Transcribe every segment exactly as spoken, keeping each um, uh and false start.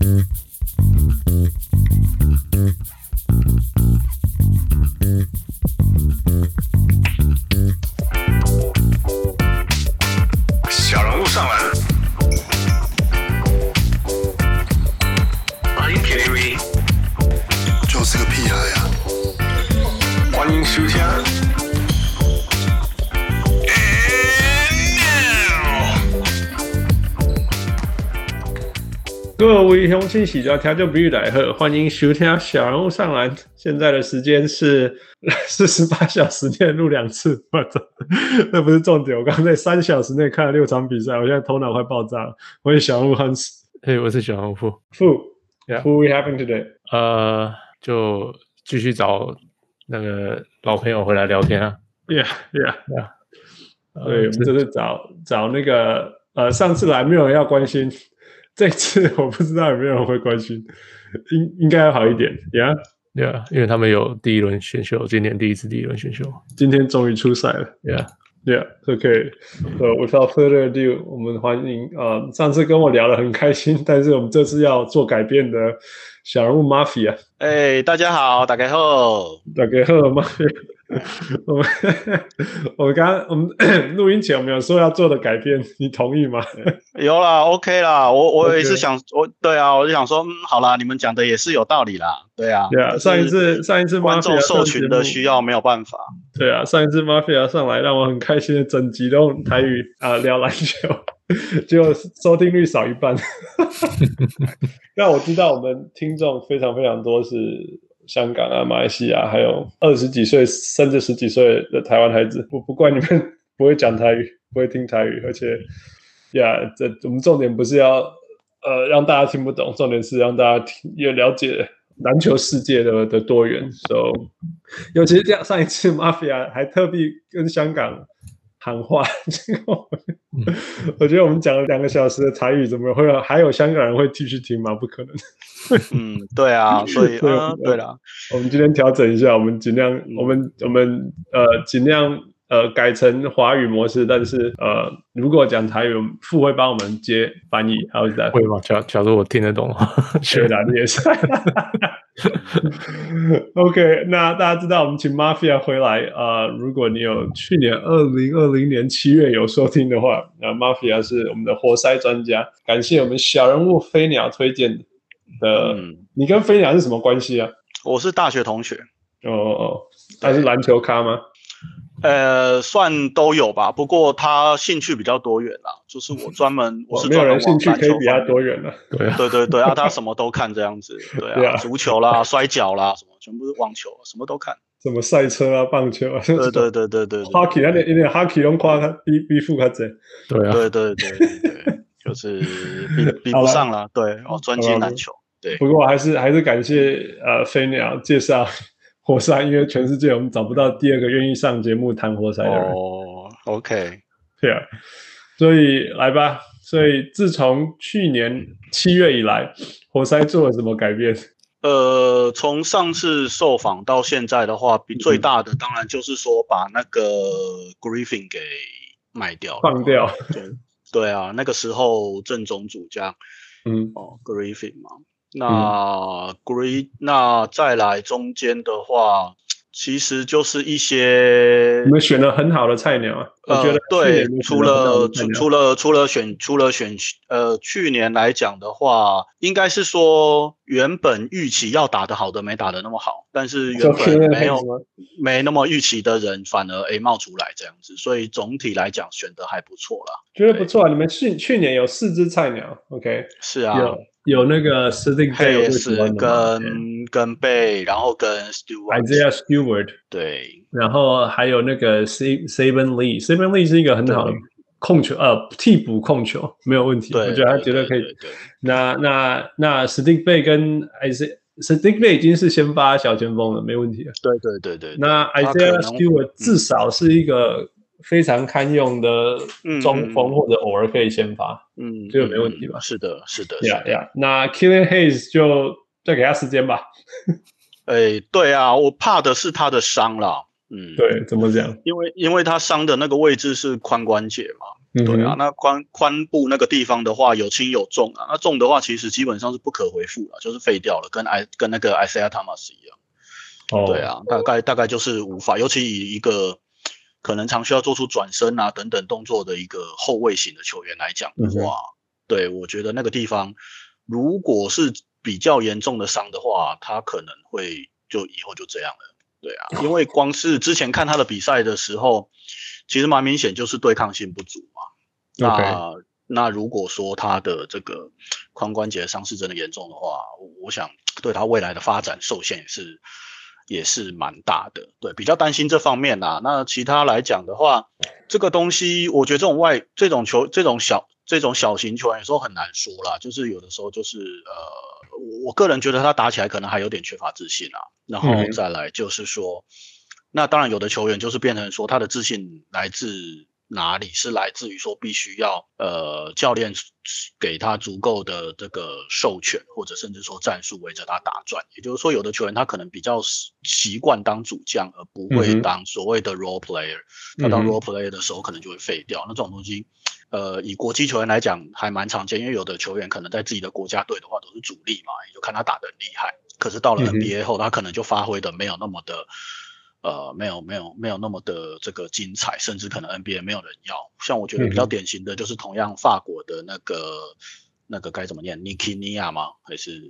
小人物上篮，欢迎 K T V， 就是个屁孩呀！ 歡迎收聽。 各位鄉親喜歡聽就比喻來賀，歡迎收聽小人物上籃。現在的時間是四十八小時內錄兩次，那不是重點。我剛剛在三小時內看了六場比賽，我現在頭腦快爆炸了。我是小人物 Hans， 嘿，我是小人物富。 富 ，Yeah. Who we having today？ 呃，就繼續找那個老朋友回來聊天啊。 Yeah, yeah, yeah. 對，我們這是找找那個呃，上次來沒有人要關心。這次我不知道有沒有人會關心，應應該要好一點 ，Yeah， Yeah， 因為他們有第一輪選秀，今年第一次第一輪選秀， 今天終於出賽了 ，Yeah，Yeah，OK， so without further ado， 我們歡迎呃，上次跟我聊得很開心，但是我們這次要做改變的小人物 Mafia， 哎，大家好，大家好， 大家好 ，Mafia。我們我們剛剛我們錄音前我們有說要做的改變，你同意嗎？ 有啦 ，OK 啦，我我也是想， okay. 我對啊，我就想說，嗯，好啦，你們講的也是有道理啦，對啊， 對啊，上一次上一次觀眾受群的需要沒有辦法， 對啊，上一次 Mafia 上來讓我很開心的整集都用台語啊、呃、聊籃球，結果收聽率少一半，讓我知道我們聽眾非常非常多是。香港啊，馬來西亞，還有二十幾歲甚至十幾歲的台灣孩子，不不怪你們不會講台語，不會聽台語，而且呀，這我們重點不是要呃讓大家聽不懂，重點是讓大家聽也了解籃球世界的的多元。So， 尤其是這樣，上一次 Mafia 還特地跟香港喊話，結果我覺得我們講了兩個小時的台語，怎麼會有還有香港人會繼續聽嗎？不可能。 嗯，對啊，所以對、呃、對啦， 我們今天調整一下，我們盡量，嗯、我們我們呃盡量呃改成華語模式，但是呃如果講台語，富會幫我們接翻譯，還有在會嗎？假假如我聽得懂的話， 對啦，你也是。OK， 那大家知道我們請 Mafia 回來啊、呃，如果你有去年二零二零年七月有收聽的話，那 Mafia 是我們的活塞專家，感謝我們小人物飛鳥推薦的。的、嗯，你跟飛鳥是什麼關係啊？ 我是大學同學。 哦哦，他是籃球咖嗎？ 呃，算都有吧。不過他興趣比較多元啦，就是我專門，我是專門沒有人興趣可以比他多元了。對啊， 對對對啊，他什麼都看這樣子。對啊，對啊，足球啦、摔跤啦，什麼全部是網球，什麼都看。什麼賽車啊、棒球啊， 對對對對對對。 Hockey， 那點那點 Hockey 都誇他比比富他賊。 對啊， 對對對對，就是比比不上啦。對，哦，專精籃球。對， 不過還是還是感謝呃飛鳥介紹活塞，因為全世界我們找不到第二個願意上節目談活塞的人。 哦 ，OK， 對啊，所以來吧。所以自從去年七月以來，活塞做了什麼改變？ 呃，從上次受訪到現在的話，比最大的當然就是說把那個 Griffin 給賣掉了， 放掉。 對對啊，那個時候正總主將， 嗯， 哦 Griffin 嘛。那 Green，、嗯、那再來中間的話，其實就是一些你們選了很好的菜鳥啊。 呃， 我覺得對，除了除除了除了選除了選呃，去年來講的話，應該是說原本預期要打得好的沒打得那麼好，但是原本沒有沒那麼預期的人反而誒冒出來這樣子，所以總體來講選得還不錯啦。 覺得不錯啊，你們去去年有四支菜鳥 ，OK？ 是啊，有有那個 Saddiq Bey 跟跟貝，然後跟 Stewart，Isaiah Stewart， 對， 然後還有那個 Saben Lee。Saben Lee 是一個很好的控球，呃，替補控球沒有問題，我覺得他絕對可以。對對對對，那那那 Saddiq Bey 跟 Isaiah Saddiq Bey 已經是先發小前鋒了，沒問題了。 對對對對。那 Isaiah Stewart 至少是一個非常堪用的中鋒，或者偶爾可以先發，嗯，這個沒問題吧？ 嗯、是的，是的。 呀呀，那 Killian Hayes 就再給他時間吧。 哎，對啊，我怕的是他的傷啦。嗯， 對，怎麼講？ 因為因為他傷的那個位置是髖關節嘛， 嗯、 對啊，那髖髖部那個地方的話有輕有重啊，那重的話其實基本上是不可回復了，就是廢掉了，跟艾跟那個 Isaiah Thomas 一樣。哦，對啊，大概大概就是無法，尤其以一個可能常需要做出轉身啊等等動作的一個後衛型的球員來講的話，嗯、對，我覺得那個地方如果是比較嚴重的傷的話，他可能會就以後就這樣了。對啊，因為光是之前看他的比賽的時候，其實蠻明顯就是對抗性不足嘛。那、okay. 那如果說他的這個髖關節傷勢真的嚴重的話，我想對他未來的發展受限也是也是蠻大的。對，比較擔心這方面啦。那其他來講的話，這個東西我覺得這種外這種球這種小這種小型球員有時候很難說啦，就是有的時候就是呃，我個人覺得他打起來可能還有點缺乏自信啦。然後再來就是說，嗯、那當然有的球員就是變成說他的自信來自哪裡，是來自於說必須要呃教練給他足夠的這個授權，或者甚至說戰術圍着他打轉。也就是說，有的球員他可能比較習慣當主將，而不會當所謂的 role player。嗯、他當 role player 的時候可能就會廢掉。那這種東西，呃，以國際球員來講還蠻常見，因為有的球員可能在自己的國家隊的話都是主力嘛，也就看他打得很厲害。可是到了 N B A 後，他可能就發揮的沒有那麼的，呃，沒有沒有沒有那麼的這個精彩，甚至可能 N B A 沒有人要。像我覺得比較典型的就是同樣法國的那個那個該怎麼念 Ntilikina 嗎？還是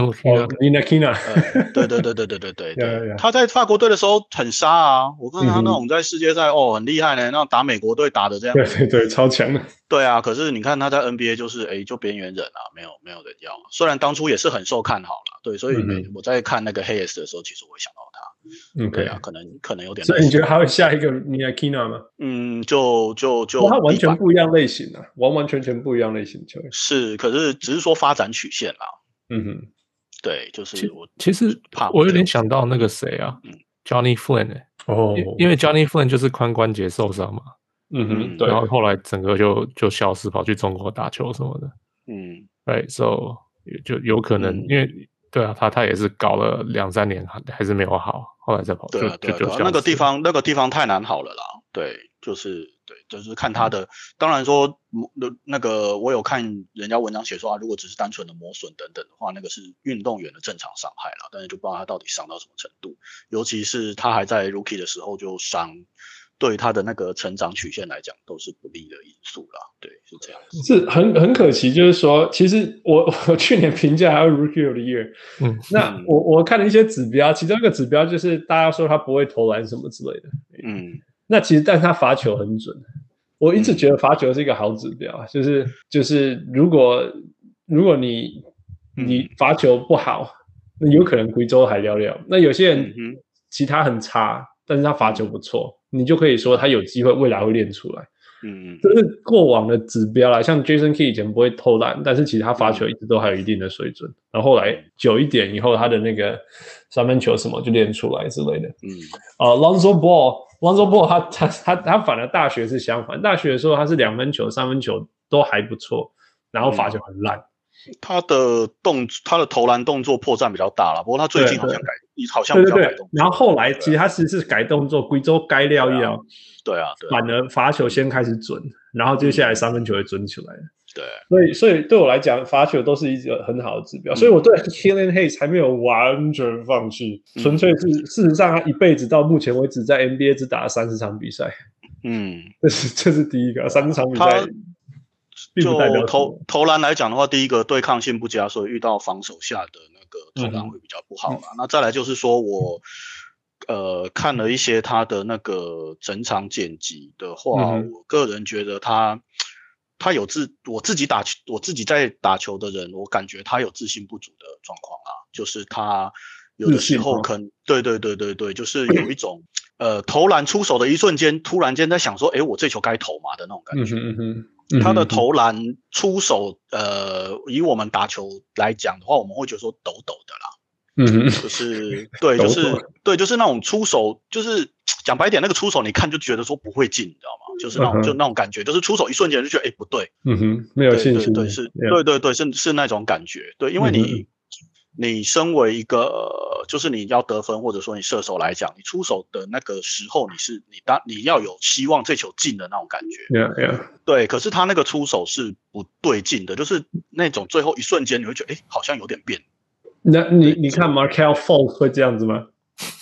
Ntilikina？ 對對對對對對對對，他在法國隊的時候很殺啊！我看他那種在世界賽、嗯、哦很厲害呢，那打美國隊打的這樣， 對對對，超強的。 對啊，可是你看他在 N B A 就是哎就邊緣人啊，沒有沒有人要。雖然當初也是很受看好啦，對，所以我在看那個 Hayes 的時候，其實我會想到他。嗯，對啊，可能可能有點。 所以你覺得他會下一個 Ntilikina 嗎？ 嗯，就就就他完全不一樣類型啊，完完全全不一樣類型的球員。 是，可是只是說發展曲線啦。嗯哼，對，就是我其實我有點想到那個誰啊、嗯、，Johnny Flynn 哎、欸，哦，因為 Johnny Flynn 就是髖關節受傷嘛。嗯哼，對，然後後來整個就就消失，跑去中國打球什麼的。嗯，對 ，so 就有可能、嗯、因為。對啊，他他也是搞了兩三年，還是沒有好，後來再跑。 對啊，對啊，對啊，那個地方那個地方太難好了啦。對，就是對，就是看他的。嗯、當然說，那個我有看人家文章寫說啊，如果只是單純的磨損等等的話，那個是運動員的正常傷害啦。但是就不知道他到底傷到什麼程度，尤其是他還在 rookie 的時候就傷。對他的那個成長曲線來講，都是不利的因素啦。對，是這樣子。是很很可惜，就是說，其實我我去年評價還有 Rookie of the Year，嗯，那我我看了一些指標，其中一個指標就是大家說他不會投籃什麼之類的，嗯，那其實但是他罰球很準，我一直覺得罰球是一個好指標，嗯、就是就是如果如果你你罰球不好，那有可能貴州還聊聊。那有些人其他很差，但是他罰球不錯。你就可以說他有機會未來會練出來，嗯，這是過往的指標啦。像 Jason Kidd 以前不會投籃，但是其實他罰球一直都還有一定的水準。然後後來久一點以後，他的那個三分球什麼就練出來之類的。嗯，啊、uh, Lonzo Ball，Lonzo Ball 他他他他反而大學是相反，大學的時候他是兩分球、三分球都還不錯，然後罰球很爛。嗯他的動，他的投籃動作破綻比較大了，不過他最近好像改，好像比較改動作。 然後後來其實他其實是改動作，貴州改料一樣， 對啊，對啊， 反而罰球先開始準，然後接下來三分球也準起來了。 對， 所以所以對我來講，罰球都是一個很好的指標，所以我對 Killian Hayes 還沒有完全放棄，嗯、純粹是事實上他一輩子到目前為止在 N B A 只打了三十場比賽，嗯，這是這是第一個三十場比賽。 就投投籃來講的話，第一個對抗性不佳，所以遇到防守下的那個投籃會比較不好啦、嗯、那再來就是說我呃看了一些他的那個整場剪輯的話、嗯，我個人覺得他他有自我自己打我自己在打球的人，我感覺他有自信不足的狀況啊，就是他有的時候可能對對對對對，就是有一種呃投籃出手的一瞬間，突然間在想說，哎，我這球該投嗎的那種感覺。嗯哼嗯，他的投籃出手，呃，以我們打球來講的話，我們會覺得說抖抖的啦，嗯，就是對，就是對，就是那種出手，就是講白一點，那個出手你看就覺得說不會進，你知道嗎？就是那種、嗯、就那種感覺，就是出手一瞬間就覺得哎不對， 嗯哼，沒有信心， 對對對是，對對對是是那種感覺，對，因為你、嗯、 你身為一個就是你要得分或者說你射手來講，你出手的那個時候，你是你當你要有希望這球進的那種感覺。 Yeah, yeah. 對，可是他那個出手是不對勁的，就是那種最後一瞬間你會覺得，哎，好像有點變。 那你你看 Markelle Fultz 會這樣子嗎？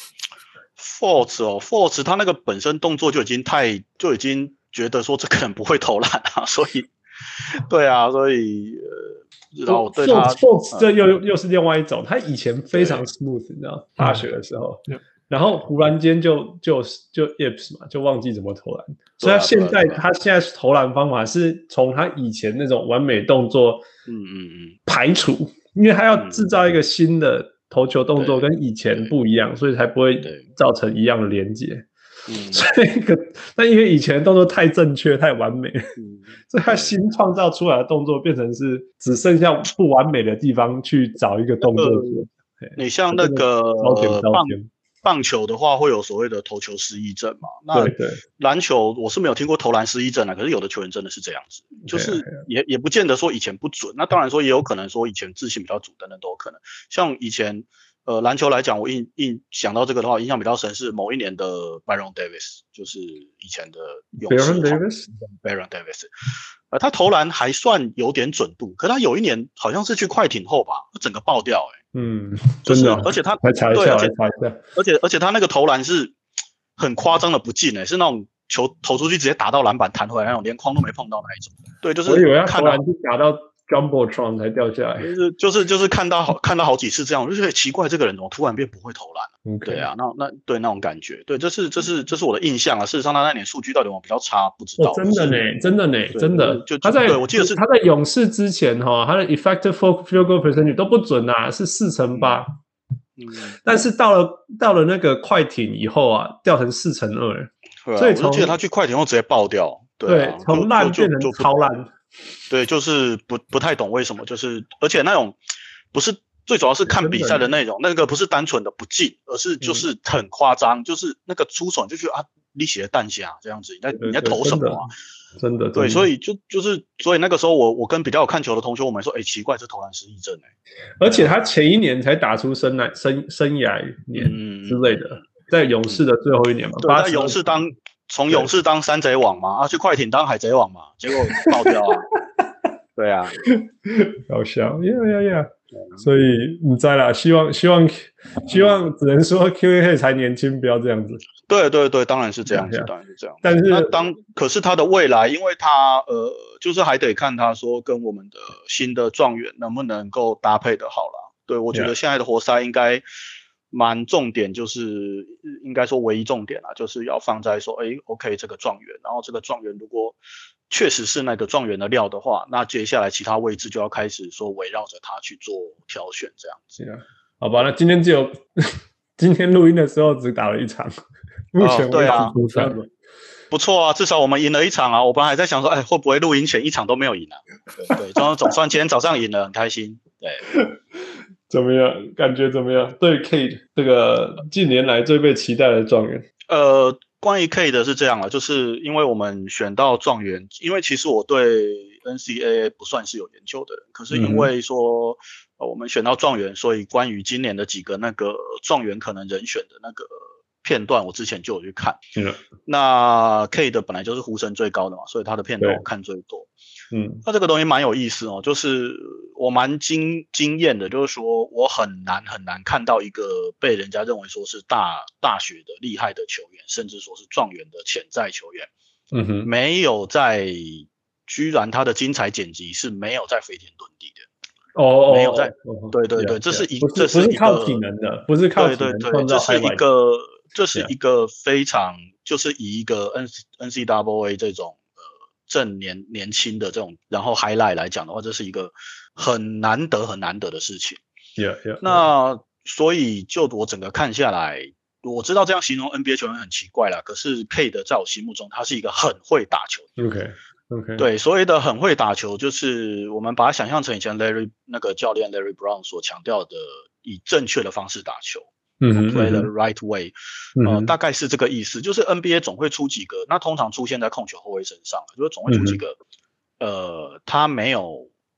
Fultz 哦 Fultz 他那個本身動作就已經太就已經覺得說這個人不會投籃啊，所以對啊，所以呃，然後我對他 Fultz 這又、嗯、又是另外一種，他以前非常 smooth，你知道，大學的時候，嗯、然後忽然間就就就 ips 嘛，就忘記怎麼投籃，所以他現在他現在投籃方法是從他以前那種完美動作，嗯嗯嗯，排除，因為他要製造一個新的。投球動作跟以前不一樣，所以才不會造成一樣的連結。嗯，所以個，但因為以前的動作太正確、太完美，嗯、所以他新創造出來的動作變成是只剩下不完美的地方去找一個動作做。那個、 你像那個棒棒球的話，會有所謂的投球失憶症嘛？那籃球我是沒有聽過投籃失憶症啊，可是有的球員真的是這樣子，就是也也不見得說以前不準，那當然說也有可能說以前自信比較足等等都有可能。像以前呃籃球來講，我印印想到這個的話，印象比較深是某一年的 Baron Davis， 就是以前的勇士 Baron Davis Baron Davis， 呃他投籃還算有點準度，可是他有一年好像是去快艇後吧，整個爆掉哎、欸。 嗯， 就是， 真的， 而且他來查一下，來查一下， 而且而且他那個投籃是很誇張的不進誒，是那種球投出去直接打到籃板彈回來那種，連框都沒碰到那一種。對，就是我以為要投籃就打到 Jumbotron 才掉下來。 就是就是就是看到好看到好幾次這樣，我就覺得奇怪，這個人怎麼突然變不會投籃了？Okay. 對啊，那那對那種感覺，對，這是這是這是我的印象啊。事實上，他那年數據到底有沒有比較差，不知道。 哦、真的呢，真的呢，真的。 就他在對我記得是他在勇士之前哈，他的 effective field goal percentage 都不準啊，是四成八。嗯，但是到了到了那個快艇以後啊，掉成四成二。 對啊，所以我記得他去快艇後直接爆掉。對、啊， 從爛變成超爛。 對，就是不不太懂為什麼，就是而且那種不是。最主要是看比賽的內容，那個不是單純的不進，而是就是很誇張，嗯、就是那個出手就覺得啊，你寫的彈匣這樣子，你在你在投什麼啊？ 真的，真的對，所以就就是所以那個時候我我跟比較有看球的同學，我們說，哎、欸，奇怪，這投籃失憶症哎、欸。 而且他前一年才打出生涯生生涯年之類的，嗯、在勇士的最後一年嘛， 對，在勇士當從勇士當山賊王嘛，啊，去快艇當海賊王嘛，結果爆掉啊。對啊， 搞笑，呀呀呀！所以你在啦，希望希望希望，只能說 Q A K 才年輕，不要這樣子。 對對對，當然是這樣子，當然是這樣。 但是那當可是他的未來，因為他呃，就是還得看他說跟我們的新的狀元能不能夠搭配的好啦。對，我覺得現在的活塞應該蠻重點，就是應該說唯一重點啦，就是要放在說，哎 ，OK 這個狀元，然後這個狀元如果確實是那個狀元的料的話，那接下來其他位置就要開始說圍繞着他去做挑選，這樣子。Yeah. 好吧，那今天只有今天錄音的時候只打了一場，目前為止出賽了。 不錯啊，至少我們贏了一場啊！我本來還在想說，哎，會不會錄音前一場都沒有贏啊？對對，總總算今天早上贏了，很開心。對， 怎麼樣？感覺怎麼樣？對 Cade 這個近年來最被期待的狀元， 呃。關於 Cade 的是這樣了，就是因為我們選到狀元，因為其實我對 N C A A 不算是有研究的人，可是因為說、嗯呃、我們選到狀元，所以關於今年的幾個那個狀元可能人選的那個片段，我之前就有去看。嗯，那 Cade 本來就是呼聲最高的嘛，所以他的片段我看最多。嗯，那這個東西蠻有意思哦，就是我蠻驚驚豔的，就是說我很難很難看到一個被人家認為說是大大學的厲害的球員，甚至說是狀元的潛在球員，嗯哼，沒有在，居然他的精彩剪輯是沒有在飛天遁地的，哦，沒有在，哦、對對對，這是一，這是一個不是靠體能的，不是靠體能創造 highlight， 這是一個，這是一個非常，就是以一個 N N C double A 這種。正年年輕的這種，然後 highlight 來講的話，這是一個很難得很難得的事情。 Yeah, yeah, yeah. 那所以就我整個看下來，我知道這樣形容 N B A 球員很奇怪啦，可是 Cade 在我心目中，他是一個很會打球的。 OK OK。對， 所謂的很會打球，就是我們把它想象成以前 Larry 那個教練 Larry Brown 所強調的，以正確的方式打球。嗯 play the right way，嗯、呃，大概是這個意思。就是 N B A 總會出幾個，那通常出現在控球後衛身上，就是總會出幾個，嗯、呃，他沒有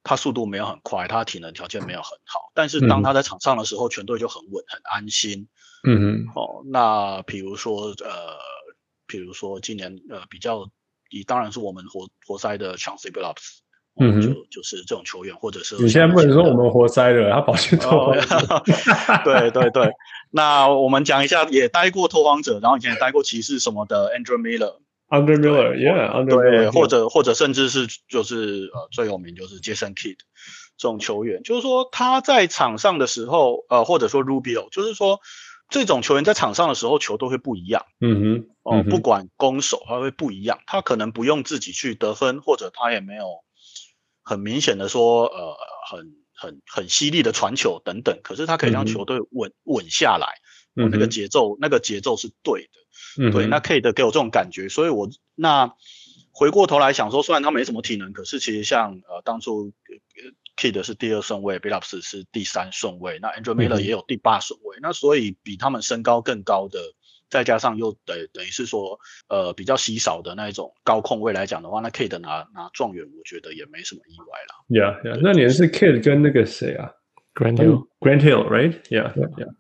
他速度沒有很快，他體能條件沒有很好，但是當他在場上的時候，嗯、全隊就很穩，很安心。 嗯哼， 哦，那比如說呃，比如說今年呃比較，當然是我們活活塞的 Chauncey Billups，嗯哼，就就是這種球員，或者是你現在不能說我們活塞了，他跑去拓荒者。 哦、對對對，那我們講一下，也待過拓荒者，然後以前也待過騎士什麼的 Andrew Miller。Andrew Miller，Yeah， 對，或者或者甚至是就是呃最有名就是 Jason Kidd 這種球員，就是說他在場上的時候，呃或者說 Rubio， 就是說這種球員在場上的時候球都會不一樣， 嗯哼， 哦、呃、不管攻守他會不一樣，他可能不用自己去得分，或者他也沒有很明顯的說呃很很很犀利的傳球等等，可是他可以讓球隊穩穩、嗯、下來，哦、那個節奏那個節奏是對的。嗯、對，那 Cade 給我這種感覺，所以我那回過頭來想說，雖然他沒什麼體能，可是其實像呃當初 Cade 是第二順位 ，Billups 是第三順位，那 Andrew Miller 也有第八順位，嗯、那所以比他們身高更高的，再加上又等等於是說呃比較稀少的那一種高控位來講的話，那 Cade 拿拿狀元，我覺得也沒什麼意外啦。 Yeah, yeah， 那年是 Cade 跟那個誰啊 ，Grant Hill，Grant Hill，right？Yeah, yeah。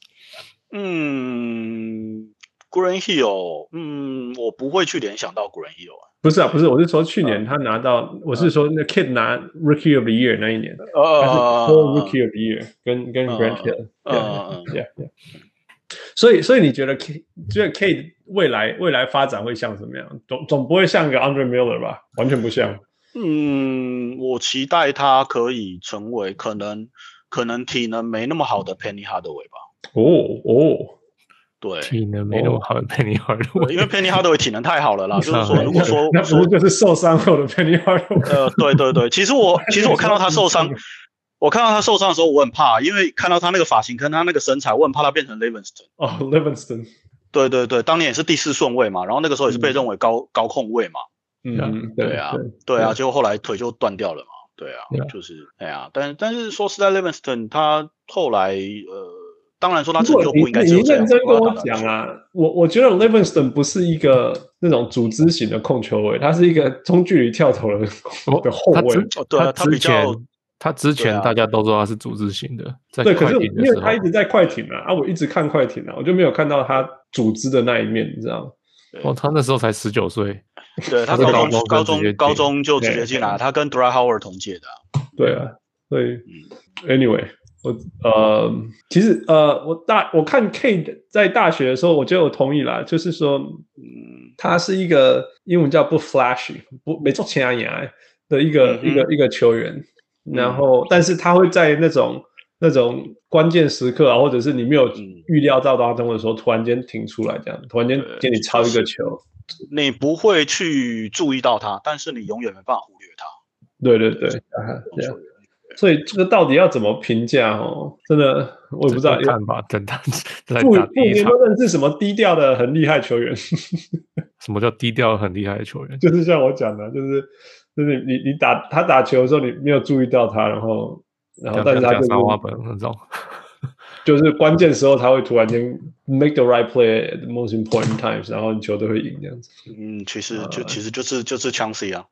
嗯。Grant Hill， 嗯，我不會去聯想到 Grant Hill 啊。 不是啊，不是，我是說去年他拿到，嗯、我是說那 Kid 拿 Rookie of the Year 那一年， 呃， 他是 Full Rookie of the Year，跟跟 Grant Hill， 嗯 ，Yeah Yeah。所以，所以你覺得 K， 覺得 Kid 未來未來發展會像什麼樣？總總不會像個 Andre Miller 吧？完全不像。 嗯，我期待他可以成為可能可能體能沒那麼好的 Penny Hardaway 吧。 哦哦。 對， 體能沒那麼好的 Penny Hardaway， 因為 Penny Hardaway 體能太好了啦。就是說，如果說那不是就是受傷後的 Penny Hardaway？ 呃，對對對，其實我其實我看到他受傷，我看到他受傷的時候，我很怕，因為看到他那個髮型跟他那個身材，我很怕他變成 Livingston。 哦 ，Livingston。 對對對，當年也是第四順位嘛，然後那個時候也是被認為高、嗯、高控位嘛。 嗯， 對啊，對啊，結果後來腿就斷掉了嘛。對啊，就是哎呀，但但是說實在 ，Livingston 他後來呃。當然說他成就不應該只有這樣。 你認真跟我講啊，我我覺得 Livingston 不是一個那種組織型的控球位，他是一個中距離跳投的的後衛。 對啊，他比較他之前大家都知道他是組織型的，在對，可是因為他一直在快艇啊，啊，我一直看快艇啊，我就沒有看到他組織的那一面，你知道嗎？ 哦，他那時候才十九歲， 對，他高中高中高中就直接進來，他跟 Dwight Howard 同屆的。 對啊，所以 Anyway。我呃，其實呃，我大我看 Cade 在大學的時候，我覺得我同意啦，就是說，嗯，他是一個英文叫不 flashy， 不沒做前牙牙的一個、嗯、一個一個球員，然後、嗯、但是他會在那種那種關鍵時刻啊，或者是你沒有預料到當中的時候，突然間停出來，這樣突然間給你抄一個球， 你不會去注意到他，但是你永遠沒辦法忽略他。 對對對，對。所以這個到底要怎麼評價哦？真的我也不知道。 看吧，等他來不打第一場。 不，你們認識什麼低調的很厲害球員？ 什麼叫低調很厲害的球員？ 就是像我講的，就是就是你你打他打球的時候，你沒有注意到他，然後然後但是他就是三花本那種， 就是關鍵時候他會突然間 make the right play at the most important times， 然後你球都會贏這樣子。 嗯，其實就、呃、其實就是就是 Chauncey 啊。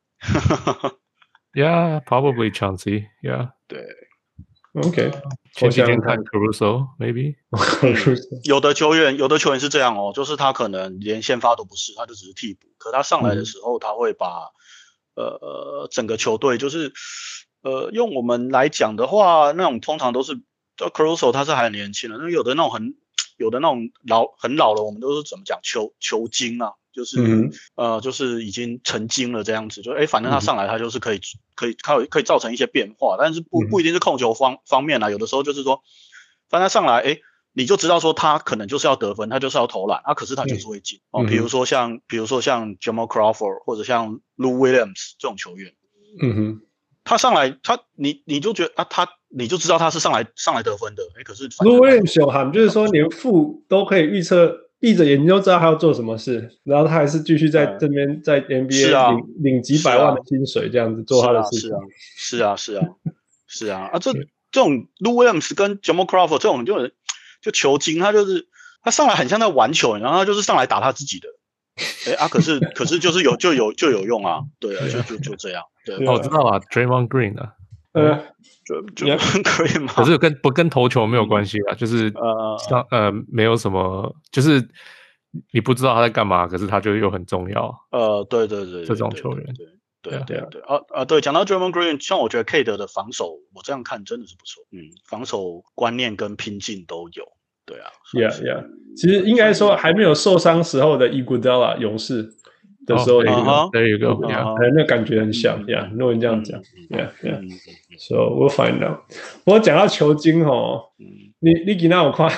Yeah, probably Chauncey. Yeah. 對 ，OK。 前幾天看 Caruso, maybe、 嗯。有的球員，有的球員是這樣哦，就是他可能連先發都不是，他就只是替補。可他上來的時候，嗯、他會把呃整個球隊，就是呃用我們來講的話，那種通常都是 Caruso 他是還很年輕的，那有的那種很有的那種老很老了，我們都是怎麼講球球精啊。就是、嗯、呃，就是已經成精了這樣子，就哎，反正他上來他就是可以、嗯、可以可以可以造成一些變化，但是不不一定是控球方方面啦，有的時候就是說，反正他上來哎，你就知道說他可能就是要得分，他就是要投籃，啊，可是他就是會進、嗯、哦，比如說像比如說像 Jamal Crawford 或者像 Lou Williams 這種球員， 嗯哼， 他上來他你你就覺得啊，他你就知道他是上來上來得分的，哎，可是 Lou Williams 小喊就是說連負都可以預測。閉着眼睛就知道他要做什麼事，然後他還是繼續在這邊在 N B A 領、啊、領幾百萬的薪水，這樣子做他的事情。 是啊，是啊，是啊，是啊，啊，這這種 Lou Williams 跟 Jamal Crawford 這種就就球精，他就是他上來很像在玩球，然後他就是上來打他自己的。哎啊，可是可是就是有就有就有用啊，對啊，就就就這樣。對， 哦，我知道了 ，Draymond Green 啊。 呃， 就就可以嗎？ 可是跟不跟投球沒有關係啊，就是呃呃沒有什麼，就是你不知道他在幹嘛，可是他就又很重要。 呃，對對對， 這種球員， 對對對對啊啊，對，講到 Draymond Green， 像我覺得 K 德的防守，我這樣看真的是不錯，嗯，防守觀念跟拼勁都有。對啊 ，Yeah Yeah， 其實應該說還沒有受傷時候的 Iguodala 勇士的時候，有一個，那感覺很像 ，Yeah， 如果你這樣講 ，Yeah Yeah，So we'll find out。不過講到球精哦，你你今天有看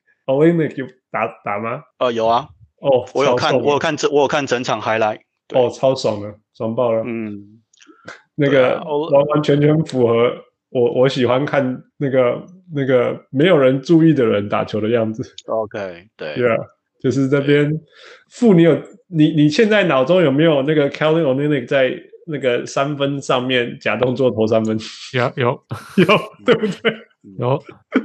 Olynyk 打打嗎？ 呃，有啊， 哦， 我有看，我有看整，我有看整場 highlight， 哦，超爽的，爽爆了， 嗯， 那個完完全全符合我我喜歡看那個。那個沒有人注意的人打球的樣子 ，OK， 對 ，Yeah， 就是這邊。傅，你有你你現在腦中有沒有那個 Kelly Olynyk 在那個三分上面假動作投三分？ 有有有，對不對？ 有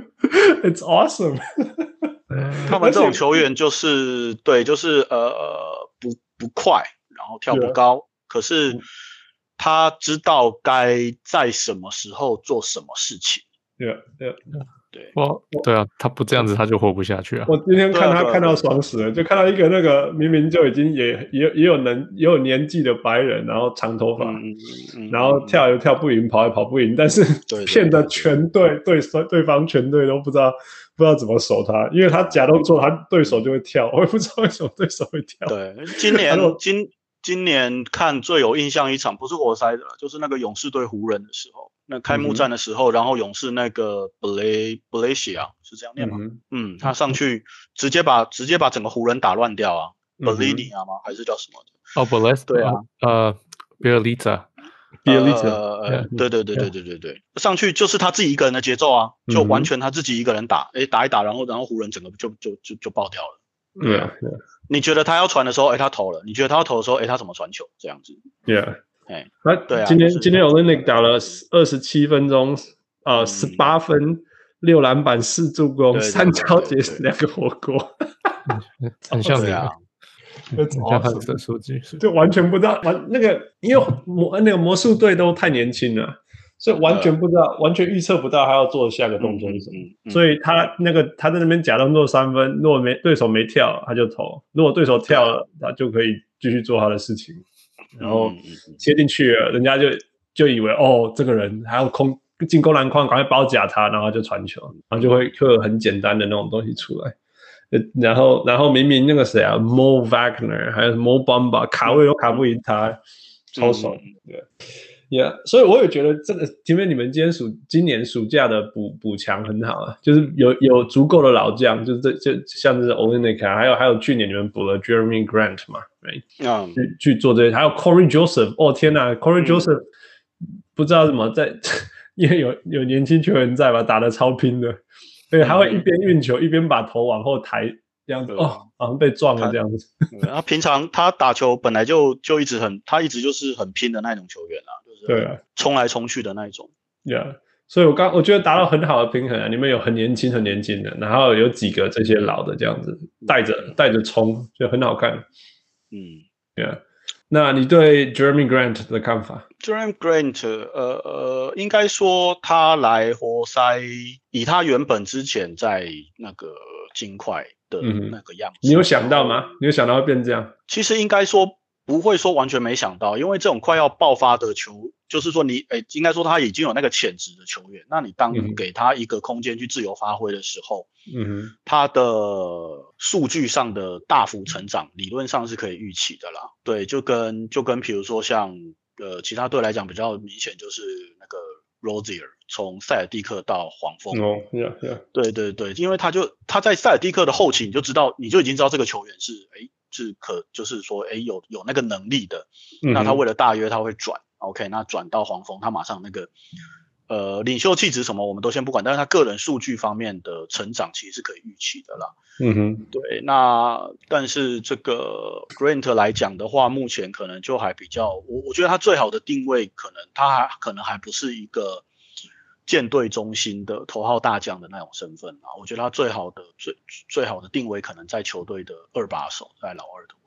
，It's awesome 。 他們這種球員就是對，就是呃不不快，然後跳不高， yeah. 可是他知道該在什麼時候做什麼事情。 對對對， 我對啊，他不這樣子他就活不下去啊！ 我今天看他看到爽死了，就看到一個那個明明就已經也也也有能也有年紀的白人，然後長頭髮，嗯嗯、然後跳又跳不贏，跑也跑不贏，但是騙得全隊對對方全隊都不知道不知道怎麼守他，因為他假動作，他對手就會跳，我也不知道為什麼對手會跳。 對，今年今今年看最有印象一場不是活塞的，就是那個勇士對湖人的時候。那開幕戰的時候，嗯、然後勇士那個 Blay Blaysia 是這樣念嗎？嗯，嗯他上去直接把直接把整個湖人打亂掉啊 Blaynia 嗎？還是叫什麼的？ 哦 Blaysia 對啊，呃 Bjelica Bjelica 呃，對對對對對對對，上去就是他自己一個人的節奏啊，就完全他自己一個人打，哎、嗯、打一打，然後然後湖人整個就就就就爆掉了。 對啊，對啊你覺得他要傳的時候，哎他投了；你覺得他要投的時候，哎他怎麼傳球？這樣子。 Yeah。 哎， 對啊，今天、就是、今天 Olynyk 打了二十七分鐘，呃，十八分、六籃板、四助攻、三抄截、兩個火鍋， 很像你啊， 很像他的數據， 就完全不知道完那個，因為魔那個魔術隊都太年輕了，所以完全不知道，完全預測不到他要做的下個動作是什麼，嗯嗯嗯、所以他那個他在那邊假動作三分，如果沒對手沒跳，他就投；如果對手跳了，他就可以繼續做他的事情。然後切進去了，人家就就以為哦，這個人還要空進攻籃筐，趕快包夾他，然後就傳球，然後就會會有很簡單的那種東西出來。然後然後明明那個誰啊 ，Mo Wagner 還有 Mo Bamba 卡位都卡不贏他，超爽。對 ，Yeah， 所以我也覺得這個，因為你們今天暑今年暑假的補補強很好啊，就是有有足夠的老將，就是這就像是 Olynyk， 還有還有去年你們補了 Jeremy Grant 嘛。Right. Um, 去去做這些，還有 Corey Joseph， 哦天哪 ，Corey Joseph、嗯、不知道怎麼在，因為有有年輕球員在吧，打得超拼的，所以他會一邊運球、嗯、一邊把頭往後抬，這樣子、嗯、哦，好像被撞了這樣子。 他平常他打球本來就就一直很，他一直就是很拼的那種球員啊，就是對啊，衝來衝去的那一種。 Yeah， 所以我剛我覺得達到很好的平衡啊，你們有很年輕很年輕的，然後有幾個這些老的這樣子帶着帶着衝，就很好看。嗯 ，Yeah， 那你對 Jeremy Grant 的看法 ？Jeremy Grant， 呃呃，應該說他來活塞，以他原本之前在那個金塊的那個樣子、嗯， 你有想到嗎？你有想到會變這樣？ 其實應該說不會說完全沒想到，因為這種快要爆發的球，就是說你，誒，應該說他已經有那個潛質的球員，那你當給他一個空間去自由發揮的時候，嗯哼，他的數據上的大幅成長，理論上是可以預期的啦。對，就跟就跟比如說像呃其他隊來講比較明顯，就是那個 Rozier 從塞爾蒂克到黃蜂， 哦、oh, yeah, yeah. 對對對，因為他就他在塞爾蒂克的後期，你就知道你就已經知道這個球員是誒是可就是說誒有有那個能力的，嗯、那他為了大約他會轉 ，OK， 那轉到黃蜂，他馬上那個。呃，領袖氣質什麼我們都先不管，但是他個人數據方面的成長其實是可以預期的啦。嗯哼，對，那但是這個 Grant 來講的話，目前可能就還比較，我我覺得他最好的定位可能他還可能還不是一個艦隊中心的頭號大將的那種身份啊。我覺得他最好的最最好的定位可能在球隊的二把手，在老二的位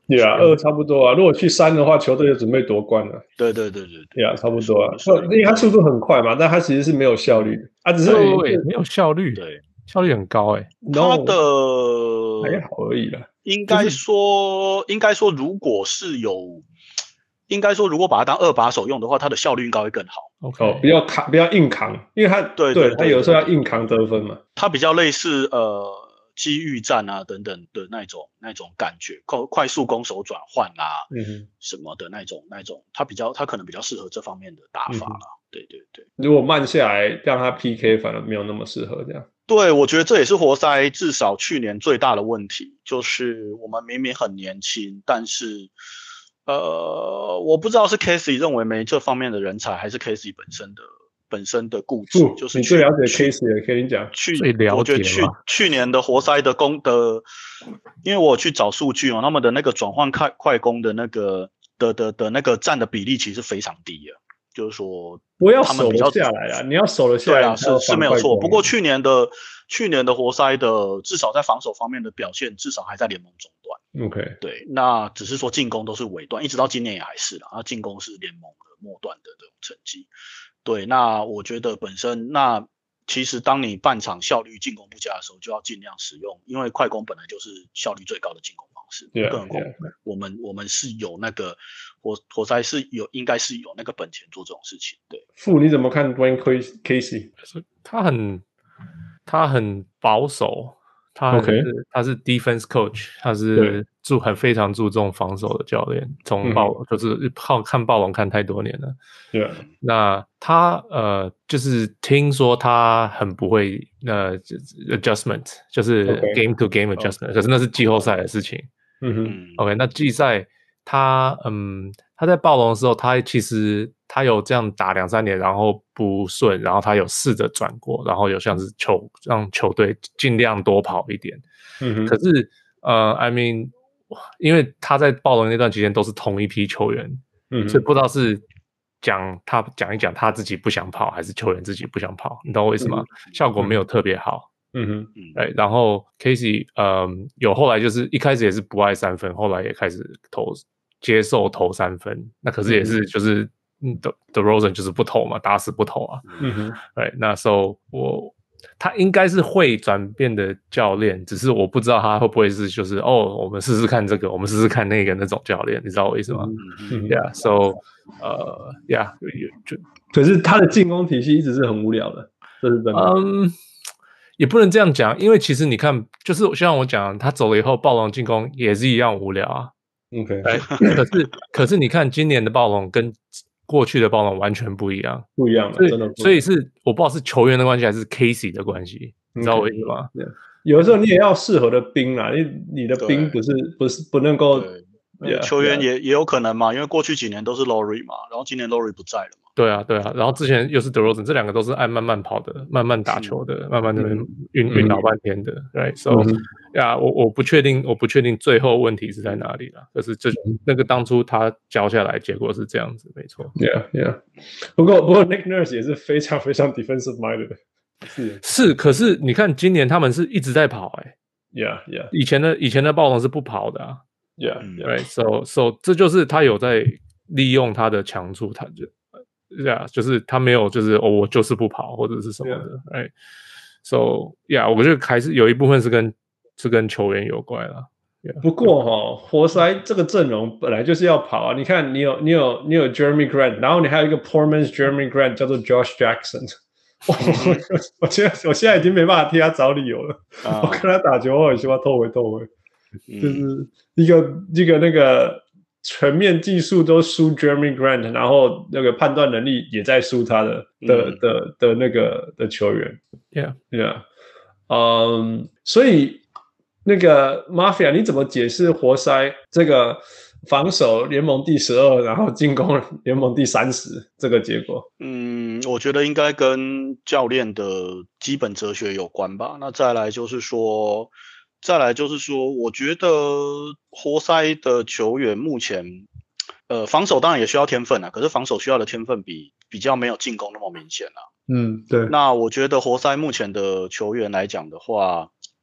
對啊，二差不多啊。如果去三的話，球隊就準備奪冠了。 對对對對對啊，差不多啊。因為他速度很快嘛，但他其實是沒有效率的啊，只是沒有效率， 對， 效率很高哎。 他的還好而已啦。 應該說，應該說，如果是有，應該說，如果把他當二把手用的話，他的效率應該會更好。 哦，不要扛，不要硬扛，因為他對對他有時候要硬扛得分嘛。 他比較類似呃。機遇戰啊，等等的那種那種感覺，快快速攻守轉換啊，嗯哼，什麼的那種那種，他比較他可能比較適合這方面的打法啦。嗯、對對對， 如果慢下來讓他 P K， 反而沒有那麼適合這樣。 對，我覺得這也是活塞至少去年最大的問題，就是我們明明很年輕，但是呃，我不知道是 Casey 認為沒這方面的人才，還是 Casey 本身的。本身的固執，就是你最了解 case 的，跟你講， 去我覺得去去年的活塞的攻的，因為我去找數據哦，他們的那個轉換快快攻的那個的的的那個佔的比例其實非常低啊，就是說不要守得下來啊，你要守得下來， 對啊，是是沒有錯。不過去年的去年的活塞的至少在防守方面的表現，至少還在聯盟中段。 OK， 對，那只是說進攻都是尾段，一直到今年也還是啦，那進攻是聯盟的末段的這種成績。對，那我覺得本身那其實當你半場效率進攻不佳的時候，就要盡量使用，因為快攻本來就是效率最高的進攻方式。 Yeah, 更何況我們 yeah. 我們是有那個活活塞是有應該是有那個本錢做這種事情。對， 傅你怎麼看 Dwane Casey？ 他很他很保守。他是、okay. 他是 defense coach， 他是注很非常注重防守的教練。從暴龍、嗯、就是靠看暴龍看太多年了。對、yeah. 那他呃就是聽說他很不會呃 adjustment， 就是 game to game adjustment，、okay. 可是那是季後賽的事情。嗯哼 ，OK， 那季賽他嗯他在暴龍的時候，他其實他有這樣打兩三年，然後不順，然後他有試着轉過，然後有像是球讓球隊盡量多跑一點。嗯哼，可是呃 ，I mean， 因為他在暴龍那段期間都是同一批球員，嗯，所以不知道是講他講一講他自己不想跑，還是球員自己不想跑，你懂我意思嗎？嗯、效果沒有特別好。嗯哼，對，然後 Casey 呃有後來就是一開始也是不愛三分，後來也開始投。接受投三分，那可是也是就是嗯 DeRozan 就是不投嘛，打死不投啊。嗯哼，對，那時候我他應該是會轉變的教練，只是我不知道他會不會是就是哦，我們試試看這個，我們試試看那個那種教練，你知道我意思嗎？嗯 Yeah，so 呃 Yeah 就可是他的進攻體系一直是很無聊的，這是真的。 嗯，也不能這樣講，因為其實你看，就是像我講，他走了以後，暴龍進攻也是一樣無聊啊。 OK， 可是可是你看今年的暴龍跟過去的暴龍完全不一樣， 不一樣， 所以真的不一樣。 所以是我不知道是球員的關係還是 Casey 的關係，okay. 你知道我意思嗎？ 有的時候你也要適合的兵啦，你你的兵不是不是不能夠， 球員也也有可能嘛，因為過去幾年都是 Lowry 嘛，然後今年 Lowry 不在了嘛。 對啊，對啊，然後之前又是 DeRozan， 這兩個都是愛慢慢跑的，慢慢打球的，慢慢那邊暈暈老半天的 ，right？So，、嗯、呀，我我不確定，我不確定最後問題是在哪裡啦。可是這那個當初他教下來，結果是這樣子，沒錯。 Yeah, yeah。不過不過 Nick Nurse 也是非常非常 defensive minded 的，是是，可是你看今年他們是一直在跑、欸，哎 ，Yeah, yeah。 以前的以前的暴龍是不跑的、啊、 ，Yeah, right？So so 這就是他有在利用他的強處，他就。Yeah， 就是他沒有，就是哦，我就是不跑或者是什麼的，哎、yeah. ，So yeah， 我覺得還是有一部分是跟是跟球員有關啦。Yeah. 不過哈、哦，活塞這個陣容本來就是要跑啊。你看，你有你有你有 Jeremy Grant， 然後你還有一個 Poor man's Jeremy Grant 叫做 Josh Jackson。我我現在我現在已經沒辦法替他找理由了。Uh. 我跟他打球，我很喜歡偷回偷回，就是一個一個那個。全面技術都輸 Jeremy Grant， 然後那個判斷能力也在輸他的的、嗯、的的、的那個的球員 ，Yeah Yeah， 嗯，所以那個 Mafia 你怎麼解釋活塞這個防守聯盟第十二，然後進攻聯盟第三十這個結果？ 嗯，我覺得應該跟教練的基本哲學有關吧。那再來就是說。再來就是說，我覺得活塞的球員目前，呃，防守當然也需要天分啊，可是防守需要的天分比比較沒有進攻那麼明顯啊。 嗯，對。 那我覺得活塞目前的球員來講的話，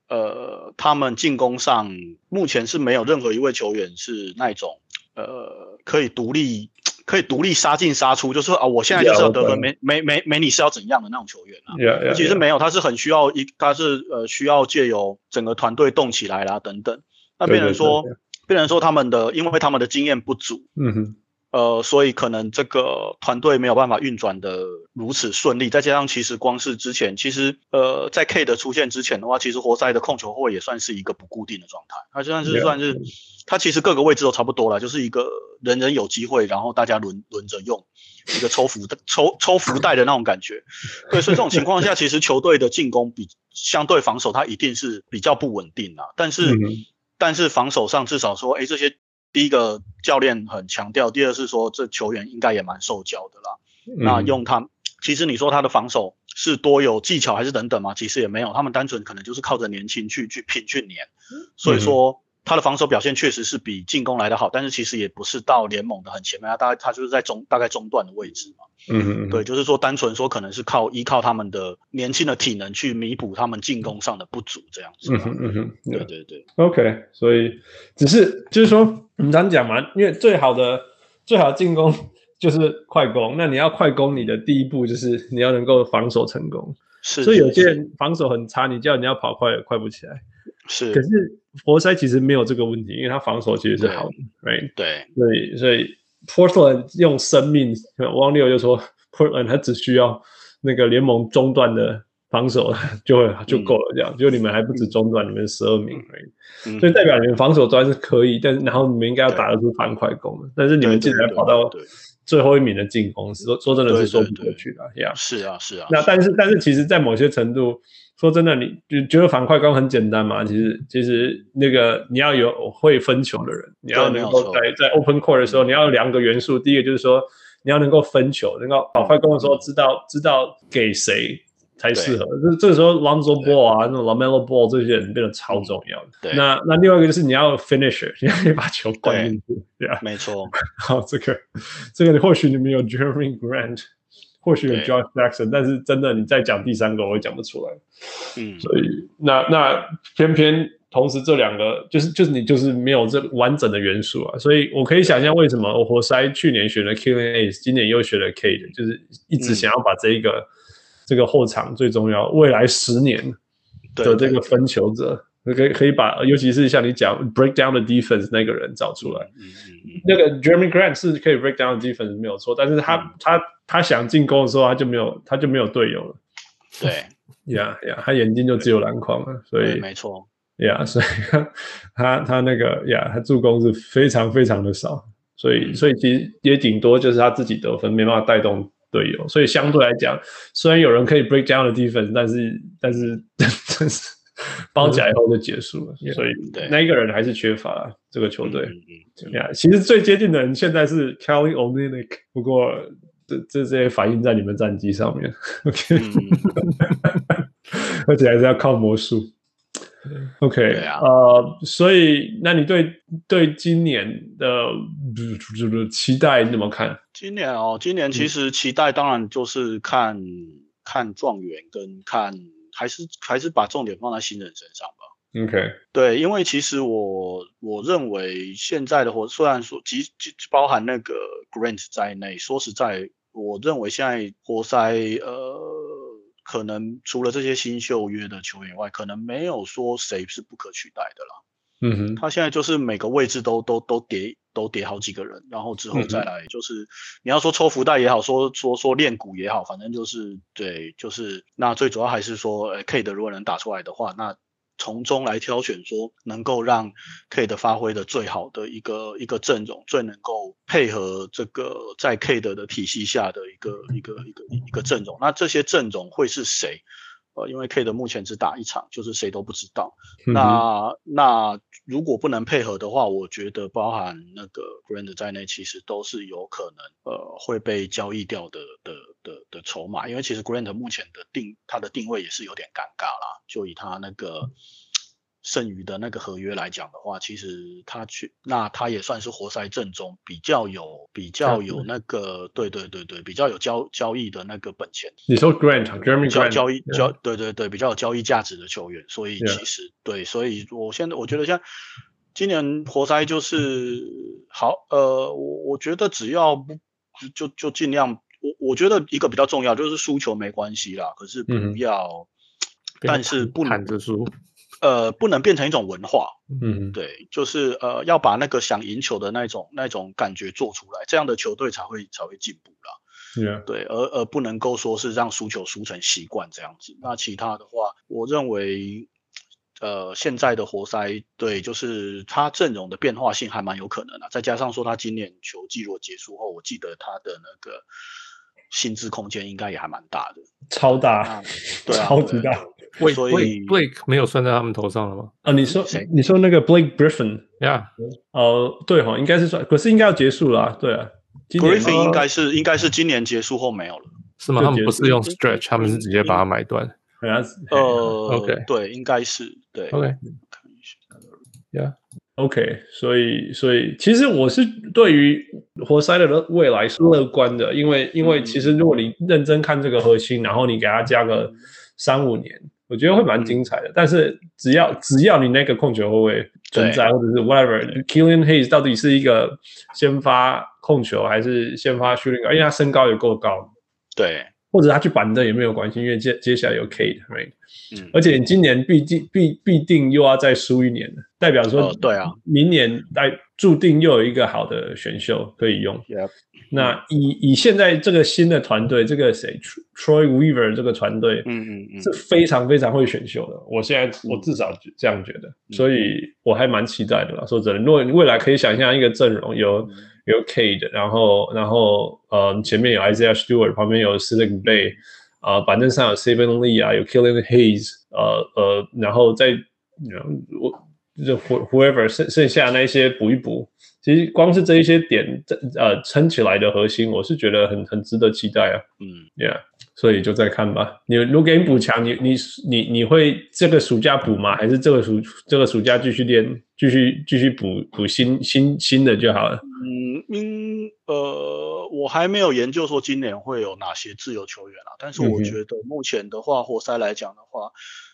呃，他們進攻上目前是沒有任何一位球員是那種呃可以獨立可以獨立殺進殺出，就是說啊，我現在就是要得分，沒沒沒沒你是要怎樣的那種球員啊。 Yeah, yeah, 其實沒有，他是很需要一，他是呃需要借由整個團隊動起來啦等等。那變成說，對對對對變成說他們的，因為他們的經驗不足。嗯哼。呃，所以可能這個團隊沒有辦法運轉的如此順利，再加上其實光是之前，其實呃，在 K 的出現之前的話，其實活塞的控球後衛也算是一個不固定的狀態，它就算是算是，它其實各個位置都差不多啦，就是一個人人有機會，然後大家輪輪着用，一個抽福的抽抽福袋的那種感覺。對，所以這種情況下，其實球隊的進攻比相對防守，它一定是比較不穩定啦。但是、嗯、但是防守上至少說，哎，這些。第一個教練很強調，第二是說這球員應該也蠻受教的啦。嗯、那用他，其實你說他的防守是多有技巧還是等等嘛？其實也沒有，他們單純可能就是靠着年輕去去拼去黏。所以說他的防守表現確實是比進攻來得好，但是其實也不是到聯盟的很前面，他大概他就是在中大概中段的位置嘛。嗯嗯，對，就是說單純說可能是靠依靠他們的年輕的體能去彌補他們進攻上的不足，這樣子。嗯哼嗯哼，對對對。 OK， 所以只是就是說我們常講嘛，因為最好的最好的進攻就是快攻，那你要快攻，你的第一步就是你要能夠防守成功。是，所以有些人防守很差，你叫你要跑快也快不起來。是，可是活塞其實沒有這個問題，因為他防守其實是好的 ，right？ 對，所以所以。Portland 用生命，汪六就說 Portland 他只需要那個聯盟中段的防守就會就夠了，這樣，就、嗯、你們還不止中段，你們十二名而已、嗯，所以代表你們防守端是可以，但是然後你們應該要打得出反快攻的，但是你們竟然跑到最後一名的進攻，說說真的是說不過去的，呀，是啊是啊。那但是但是其實，在某些程度。說真的，你就覺得反快攻很簡單嘛？其實，其實那個你要有會分球的人，你要能夠在在 open court 的時候，你要有兩個元素。第一個就是說，你要能夠分球，能夠跑快攻的時候知道、嗯、知道給誰才適合。這這個時候 Lonzo Ball 啊，那種 LaMelo Ball 這些人變得超重要的。對，那那另外一個就是你要 finisher， 你要可以把球灌進去，對啊，沒錯。好，這個這個或許你們有 Jeremy Grant。或許有 Josh Jackson， 但是真的你再講第三個，我也講不出來。嗯，所以那那偏偏同時這兩個就是就是你就是沒有這完整的元素啊，所以我可以想象為什麼活塞去年選了 Killian Hayes， 今年又選了 Cade， 就是一直想要把這一個、嗯、這個後場最重要未來十年的這個分球者。可以可以把，尤其是像你講 break down the defense 那個人找出來。嗯嗯嗯。那個 Jeremy Grant 是可以 break down the defense 沒有錯，但是他、嗯、他他想進攻的時候，他就沒有他就沒有隊友了。對，呀呀，他眼睛就只有籃筐了，所以沒錯。呀、yeah, 所以他他那個呀，他助攻是非常非常的少，所以、嗯、所以其實也頂多就是他自己得分，沒辦法帶動隊友，所以相對來講，雖然有人可以 break down the defense， 但是但是但是。包起來以後就結束了，嗯、所以那一個人還是缺乏這個球隊。嗯嗯嗯 yeah, 其實最接近的人現在是 Kelly Olynyk， 不過這這些反映在你們戰績上面。OK，、嗯、而且還是要靠魔術。OK，、啊、呃，所以那你對對今年的期待你怎麼看？ 今年哦，今年其實期待當然就是看、嗯、看狀元跟看。還是還是把重點放在新人身上吧。OK， 對，因為其實我我認為現在的活，雖然說即包含那個 Grant 在內，說實在，我認為現在活塞呃，可能除了這些新秀約的球員以外，可能沒有說誰是不可取代的啦。嗯哼，他現在就是每個位置都都都疊都疊好幾個人，然後之後再來就是、嗯、你要說抽福袋也好，說說說練鼓也好，反正就是對，就是那最主要還是說，呃 K 的如果能打出來的話，那從中來挑選說能夠讓 K 的發揮的最好的一個一個陣容，最能夠配合這個在 K 的的體系下的一個一個一個一個陣容，那這些陣容會是誰？呃，因為 K 的目前只打一場，就是誰都不知道。嗯、那那如果不能配合的話，我覺得包含那個 Grant 在內，其實都是有可能呃會被交易掉的的的的籌碼。因為其實 Grant 目前的定他的定位也是有點尷尬啦，就以他那個剩餘的那個合約來講的話，其實他去那他也算是活塞陣中比較有比較有那個對對對對比較有交交易的那個本錢。 你說 Grant，Jeremy Grant 交易交對對對比較有交易價值的球員，所以其實對，所以我現在我覺得像今年活塞就是好呃，我我覺得只要不就就盡量。我我覺得一個比較重要就是輸球沒關係啦，可是不要，嗯、但是不能着輸，呃，不能變成一種文化，嗯，對，就是呃要把那個想贏球的那種那種感覺做出來，這樣的球隊才會才會進步啦，Yeah. 對，而而不能夠說是讓輸球輸成習慣這樣子。那其他的話，我認為，呃，現在的活塞對，就是他陣容的變化性還蠻有可能的，再加上說他今年球季如果結束後，我記得他的那個。薪資空間應該也還蠻大的， 超大，對啊，超級大。 所以 Blake 沒有算在他們頭上了嗎？ 啊，你說你說那個 Blake Griffin， 呀， 哦，對哈，應該是算，可是應該要結束了啊，對啊。 Griffin 應該是應該是今年結束後沒有了， 是嗎？他們不是用 stretch， 他們是直接把它買斷。 呃 ，OK， 對，應該是對 ，OK，看一下 ，Yeah。OK， 所以所以其實我是對於活塞的未來是樂觀的，因為因為其實如果你認真看這個核心，然後你給他加個三五年，我覺得會蠻精彩的。但是只要只要你那個控球後衛存在，或者是 whatever，Killian Hayes 到底是一個先發控球還是先發 shooting guard，因為他身高也夠高， 對。 或者他去板凳也沒有關係，因為接接下來有 Cade，right？、嗯、而且你今年必定必必定又要再輸一年了，代表說， 哦、對啊， 明年來注定又有一個好的選秀可以用。Yep. 那以以現在這個新的團隊，這個誰 Troy Weaver 這個團隊，嗯嗯嗯，是非常非常會選秀的。我現在我至少這樣覺得，嗯、所以我還蠻期待的啦。說真的，如果你未來可以想象一個陣容有。嗯有 Cade， 然後然後呃前面有 Isaiah Stewart， 旁邊有 Saddiq Bey， 啊、呃、板凳上有 Saben Lee 啊，有 Killian Hayes， 呃呃，然後再我就 whoever 剩剩下那一些補一補，其實光是這一些點呃撐起來的核心，我是覺得很很值得期待啊。嗯 ，Yeah， 所以就再看吧。你如果給你補強，你你你你會這個暑假補嗎？還是這個暑這個暑假繼續練，繼續繼續補補新新新的就好了？ 嗯，因呃，我還沒有研究說今年會有哪些自由球員啊，但是我覺得目前的話，活塞來講的話，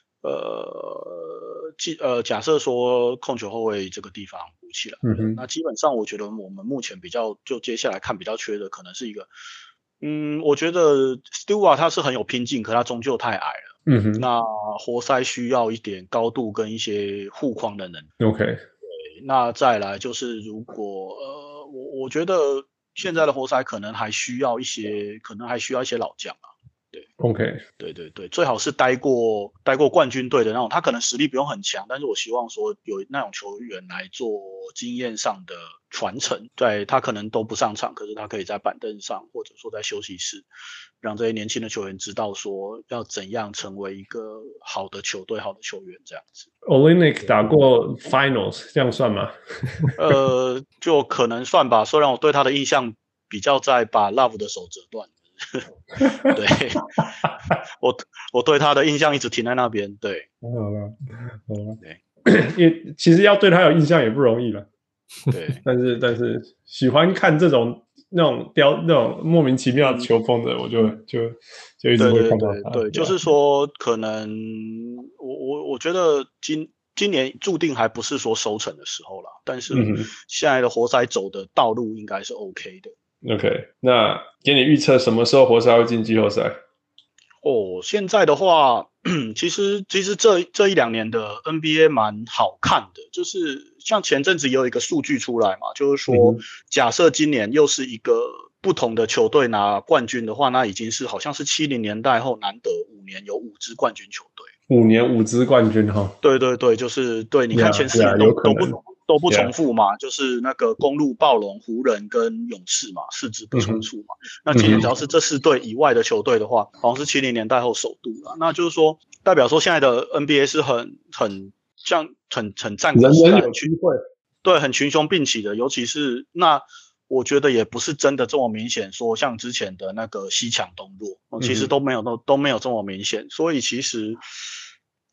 呃，既呃，假設說控球後衛這個地方補起來，嗯，那基本上我覺得我們目前比較就接下來看比較缺的可能是一個，嗯，我覺得 Stewart 他是很有拼勁，可他終究太矮了，嗯哼，那活塞需要一點高度跟一些護框的能力 ，OK。 那再來就是如果呃，我我覺得現在的活塞可能還需要一些，可能還需要一些老將啊。對 ，OK， 對對對，最好是待過待過冠軍隊的那種，他可能實力不用很強，但是我希望說有那種球員來做經驗上的傳承。對，他可能都不上場，可是他可以在板凳上，或者說在休息室，讓這些年輕的球員知道說要怎樣成為一個好的球隊、好的球員這樣子。 Olynyk 打過 Finals， 這樣算嗎？ 呃，就可能算吧。雖然我對他的印象比較在把 Love 的手折斷。對，我我對他的印象一直停在那邊。對， 好了，好了，對，因為其實要對他有印象也不容易了。 對， 但是但是喜歡看這種那種雕那種莫名其妙的球風的，嗯、我就就就一直會看到他。 對，對，對，對，就是說，可能我我我覺得今今年注定還不是說收成的時候啦，但是現在的活塞走的道路應該是 OK 的。 OK， 那給你預測什麼時候活塞會進季後賽？ 哦，現在的話，其實其實這這一兩年的 N B A 蠻好看的，就是像前陣子也有一個數據出來嘛，就是說，嗯、假設今年又是一個不同的球隊拿冠軍的話，那已經是好像是七零年代後難得五年有五支冠軍球隊，五年五支冠軍哈。 對對對，就是對，你看前四年都、yeah, yeah, 都不。都不重複嘛， yeah. 就是那個公鹿、暴龍、湖人跟勇士嘛，四支不重複嘛。嗯、那今年只要是這四隊以外的球隊的話，嗯、好像是七零年代後首度了。那就是說，代表說現在的 N B A 是很很像很很戰國時代，人人有機會，對，很群雄並起的。尤其是那，我覺得也不是真的這麼明顯，說像之前的那個西強東弱，其實都沒有都都沒有這麼明顯。所以其實。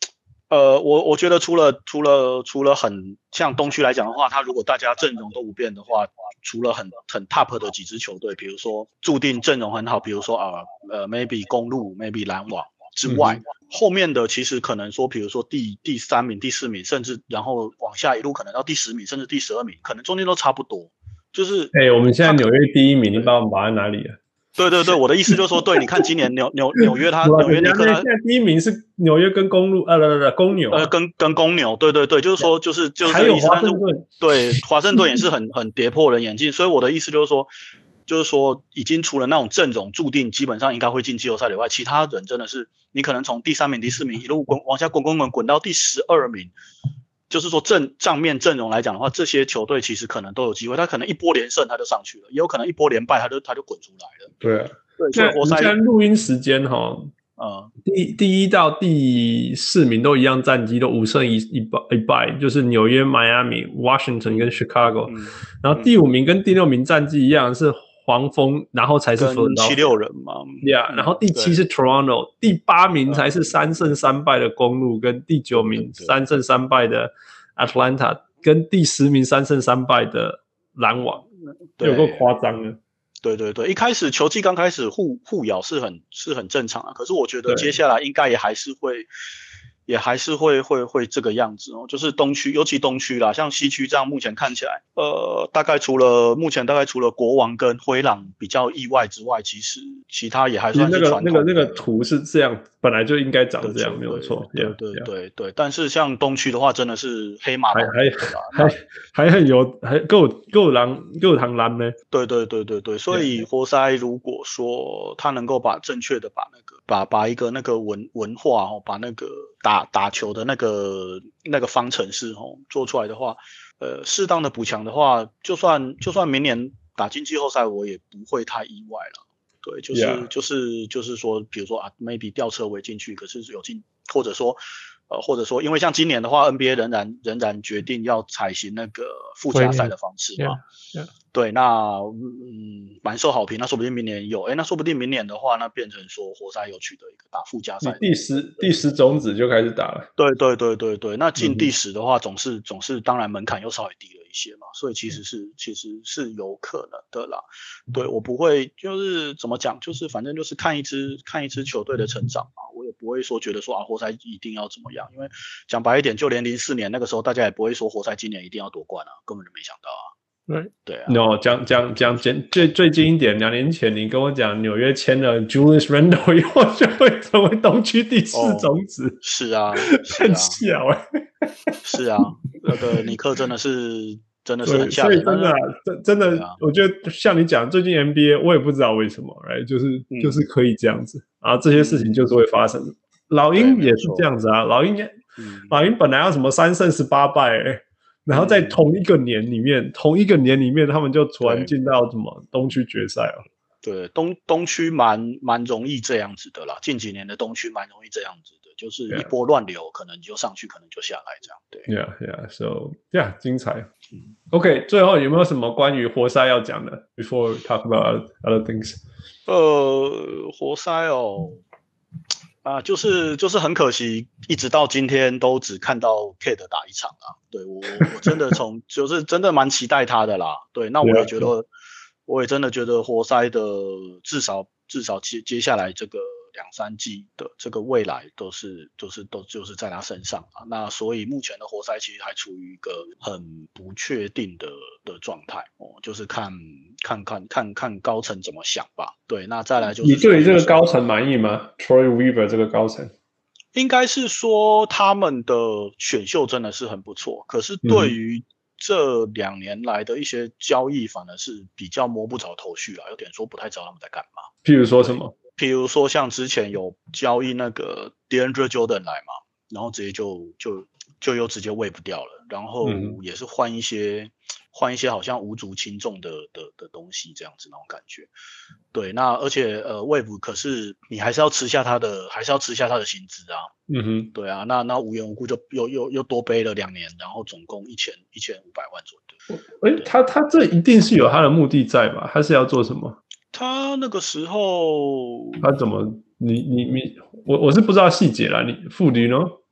呃，我我覺得除了除了除了很像東區來講的話，他如果大家陣容都不變的話，除了很很 top 的幾支球隊，比如說注定陣容很好，比如說啊呃 maybe 公鹿 maybe 籃網之外、嗯，後面的其實可能說，比如說第第三名、第四名，甚至然後往下一路可能到第十名，甚至第十二名，可能中間都差不多。就是哎、 欸，我們現在紐約第一名，你把我們擺在哪裡啊？ 對對對，我的意思就是說，對，你看今年紐紐紐約他紐約尼克他現在第一名是紐約跟公鹿，呃，不不不，公牛， 呃，跟跟公牛，對對對，就是說，就是就是還有華盛頓， 對，華盛頓也是很很跌破人眼鏡，所以我的意思就是說，就是說，已經除了那種陣容注定基本上應該會進季後賽以外，其他人真的是你可能從第三名、第四名一路滾往下滾滾滾滾到第十二名。就是說正賬面陣容來講的話，這些球隊其實可能都有機會，他可能一波連勝他就上去了，也有可能一波連敗他就他就滾出來了。 對啊，對，所以活塞現在錄音時間哈，呃，第第一到第四名都一樣戰績，都五勝一一敗一敗，就是紐約、邁阿密、Washington 跟 Chicago，、嗯、然後第五名跟第六名戰績一樣是黃蜂，然後才是佛七六人嘛， 對啊，然後第七是 Toronto， 第八名才是三勝三敗的公鹿，跟第九名三勝三敗的 Atlanta， 跟第十名三勝三敗的籃網，有夠誇張的。 對對對，一開始球季剛開始互互咬是很是很正常啊，可是我覺得接下來應該也還是會。也還是會會會這個樣子哦，就是東區，尤其東區啦，像西區這樣，目前看起來，呃，大概除了目前大概除了國王跟灰狼比較意外之外，其實其他也還算是傳統的。 那個那個那個圖是這樣，本來就應該長這樣，沒有錯。 對對對 yeah, 對, 對，但是像東區的話，真的是黑馬還還還還很有，還夠夠狼夠螳螂呢。 對對對對對，所以活塞如果說他能夠把正確的把那個把把一個那個文文化哦，把那個打打球的那個那個方程式哦做出來的話，呃，適當的補強的話，就算就算明年打進季後賽，我也不會太意外了。對，就是、yeah. 就是就是說，比如說啊 ，maybe 吊車尾進去，可是有進，或者說呃，或者說，因為像今年的話 ，N B A 仍然仍然決定要採行那個附加賽的方式嘛。 Yeah. Yeah. 對，那嗯，蠻受好評。那說不定明年有，哎，那說不定明年的話，那變成說活塞有取得一個打附加賽， 第十第十種子就開始打了。 對對對對對，那進第十的話，總是、嗯、總是當然門檻又稍微低了一些嘛，所以其實是、嗯、其實是有可能的啦。對，我不會就是怎麼講，就是反正就是看一支看一支球隊的成長嘛，我也不會說覺得說啊活塞一定要怎麼樣，因為講白一點，就連零四年那個時候，大家也不會說活塞今年一定要奪冠啊，根本就沒想到啊。 對對啊 ，no， 講講講最最近一點，兩年前你跟我講紐約簽了 Julius Randle 以後就會成為東區第四種子，哦、 是啊， 很小哎、 欸，是啊，那個尼克真的是真的是很嚇人， 所以真的、啊、真真的、啊，我覺得像你講最近 N B A 我也不知道為什麼，哎，就是、嗯、就是可以這樣子，然後這些事情就是會發生。嗯、老鷹也是這樣子啊，老鷹、嗯、老鷹本來要什麼三勝十八敗哎。然後在同一個年裡面，嗯、同一個年裡面，他們就突然進到什麼東區決賽了。 對，東東區蠻蠻容易這樣子的啦。近幾年的東區蠻容易這樣子的，就是一波亂流， yeah. 可能就上去，可能就下來這樣。對 ，Yeah, yeah, so yeah， 精彩。嗯、OK， 最後有沒有什麼關於活塞要講的 ？Before we talk about other things。 呃，活塞哦。啊，就是就是很可惜，一直到今天都只看到 K 的打一場啊。對，我我真的從就是真的蠻期待他的啦。對，那我也覺得，我也真的覺得活塞的至少至少接接下來這個兩三季的這個未來都是都是都就是在他身上啊。那所以目前的活塞其實還處於一個很不確定的的狀態哦，就是看看看看看高層怎麼想吧。對，那再來就是你對於這個高層滿意嗎 ？Troy Weaver 這個高層， 應該是說他們的選秀真的是很不錯，可是對於這兩年來的一些交易，反而是比較摸不着頭緒啦，有點說不太知道他們在幹嘛。 譬如說什麼？ 譬如說像之前有交易那個 DeAndre Jordan 來嘛，然後直接就就就又直接 waive 掉了，然後也是換一些換、嗯、一些好像無足輕重的的的東西這樣子那種感覺。對，那而且呃 waive 可是你還是要吃下他的，還是要吃下他的薪資啊。嗯哼，對啊，那那無緣無故就又又又多背了兩年，然後總共一千一千五百萬左右。 哎，他他這一定是有他的目的在吧？他是要做什麼？ 他那個時候， 他怎麼？你你你，我我是不知道細節啦。你傅迪呢？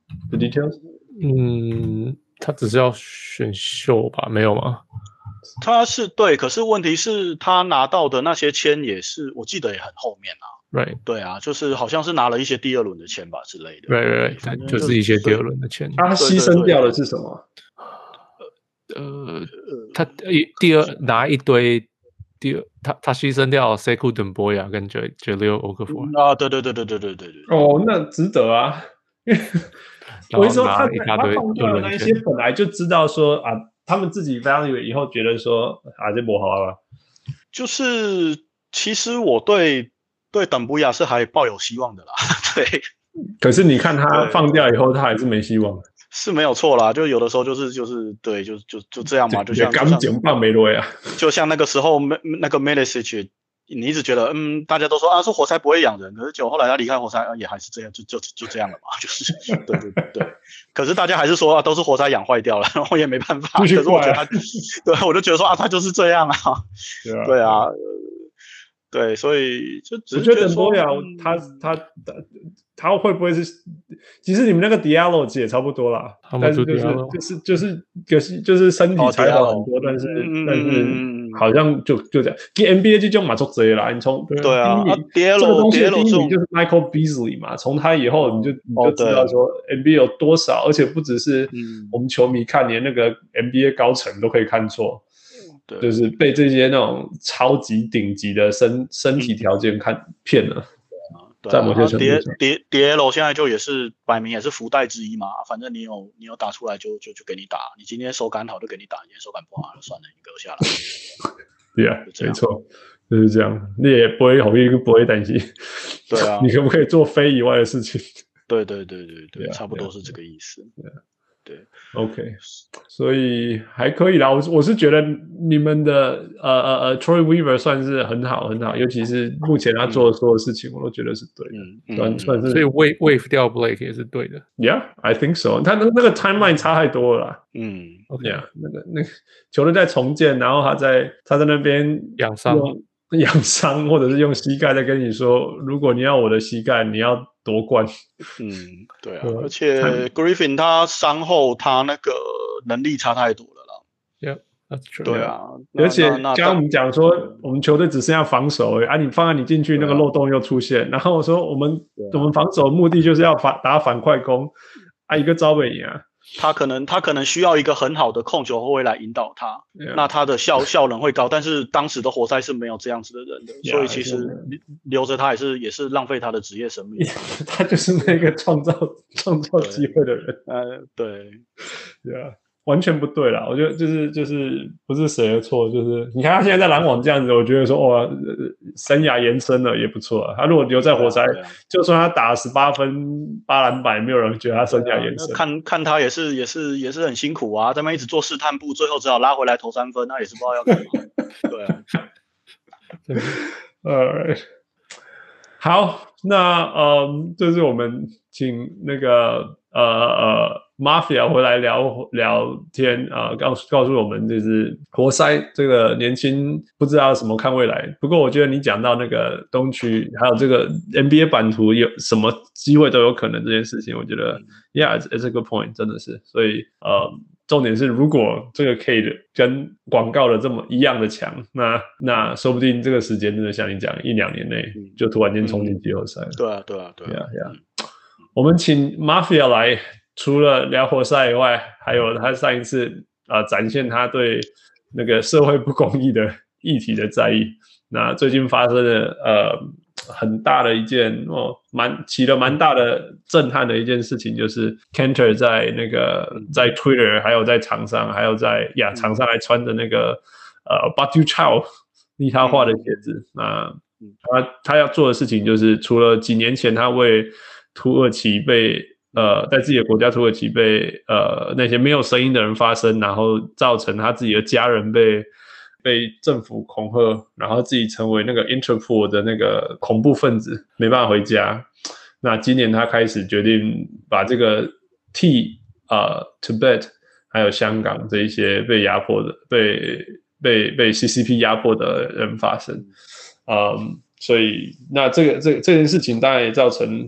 The details？ 嗯，他只是要選秀吧？沒有嗎？ 他是對，可是問題是他拿到的那些簽也是，我記得也很後面啊。 Right， 對啊，就是好像是拿了一些第二輪的簽吧之類的。 Right， right， 就, 就是一些第二輪的簽。 他犧牲掉的是什麼？ 呃，他第二拿一堆，第二他他犧牲掉 Sekou Doumbouya 跟 Jahlil Okafor 啊，對對對對對對對對。 哦，那值得啊，因為我說他他放掉的那一些本來就知道說啊，他們自己 value 以後覺得說啊這不好啊， 就是其實我對對Doumbouya是還抱有希望的啦，對。 可是你看他放掉以後，他還是沒希望。 是沒有錯啦，就有的時候就是就是對，就就就這樣嘛，就像剛講棒沒落呀， 就像那個時候那個 Milicic， 你一直覺得嗯，大家都說啊，說活塞不會養人，可是結果後來他離開活塞，啊、也還是這樣，就就就這樣了嘛，就是對對對對。可是大家還是說啊，都是活塞養壞掉了，然後也沒辦法。可是我覺得他，對，我就覺得說啊，他就是這樣啊，對啊，對啊，對，所以就只是覺得說， 嗯、他他他。他會不會是？其實你們那個 Diallo 也差不多啦，但是就是就是就是就是就是身體才好很多，但是但是好像就就這樣。N B A 就這樣嘛，做這啦。你從對啊 ，Diallo 這個東西的第一名就是 Michael Beasley 嘛，從他以後你就你就知道說 N B A 有多少，而且不只是我們球迷看，連那個 N B A 高層都可以看錯，就是被這些那種超級頂級的身身體條件看騙了。在某些程度上 ，Diallo 現在就也是擺明也是福袋之一嘛。反正你有你有打出來就就就給你打，你今天手感好就給你打，你今天手感不好就算了，你給我下來。 對啊，沒錯，就是這樣。你也不會好意，不會擔心。 對啊， 你可不可以做非以外的事情？ 對對對對對，差不多是這個意思。對。對 ，OK， 所以還可以啦。我我是覺得你們的呃呃呃 Troy Weaver 算是很好很好，尤其是目前他做的所有事情，我都覺得是對的，嗯、算算是。 所以 wave wave 掉 Blake 也是對的。 Yeah，I think so。他那那個 timeline 差太多了啦。 嗯 ，Yeah， 那個那個球隊在重建，然後他在他在那邊養傷養傷，或者是用膝蓋在跟你說，如果你要我的膝蓋，你要奪冠。 嗯，對啊，而且 Griffin 他傷後他那個能力差太多了啦。 Yeah, that's true. 對啊， 而且剛剛我們講說，我們球隊只剩下防守而已啊，你放在你進去那個漏洞又出現，然後我說我們我們防守的目的就是要反打反快攻啊，一個招北贏啊。 他可能他可能需要一個很好的控球後衛來引導他， yeah. 那他的效效能會高。但是當時的活塞是沒有這樣子的人的， yeah, 所以其實留着他也是也是浪費他的職業生命。 Yeah, 他就是那個創造創造機會的人。 呃，對， 對啊。完全不對啦，我覺得就是就是不是誰的錯，就是你看他現在在籃網這樣子，我覺得說哇，生涯延伸了也不錯啊。他如果留在活塞，啊啊、就算他打十八分八籃板，沒有人覺得他生涯延伸。 啊、看看他也是也是也是很辛苦啊，在那邊一直做試探步，最後只好拉回來投三分，那也是不知道要幹嘛。對啊， 對 ，Alright， 好，那嗯，這、就是我們請那個呃呃。Mafia 回來聊聊天啊、呃，告訴告訴我們就是活塞這個年輕不知道什麼看未來。不過我覺得你講到那個東區還有這個 N B A 版圖有什麼機會都有可能這件事情，我覺得 Yeah, it's, it's a good point， 真的是。所以呃，重點是如果這個 Cade 跟廣告的這麼一樣的強，那那說不定這個時間真的像你講，一兩年內就突然間衝進季後賽了。 對啊，對啊，對啊。 Yeah, yeah. 嗯、我們請 Mafia 來。除了聊活塞以外，還有他上一次啊、呃、展現他對那個社會不公義的議題的在意。那最近發生了呃很大的一件哦，蠻起了蠻大的震撼的一件事情，就是 Kanter 在那個在 Twitter 還有在場上還有在呀場上還穿着那個呃 Batu Chow 利他畫的鞋子。那他他要做的事情就是，除了幾年前他為土耳其被呃，在自己的國家土耳其被呃那些沒有聲音的人發聲，然後造成他自己的家人被被政府恐嚇，然後自己成為那個 Interpol 的那個恐怖分子，沒辦法回家。那今年他開始決定把這個替呃 Tibet 還有香港這一些被壓迫的、被被被 C C P 壓迫的人發聲。嗯，所以那這個這個、這件事情當然也造成。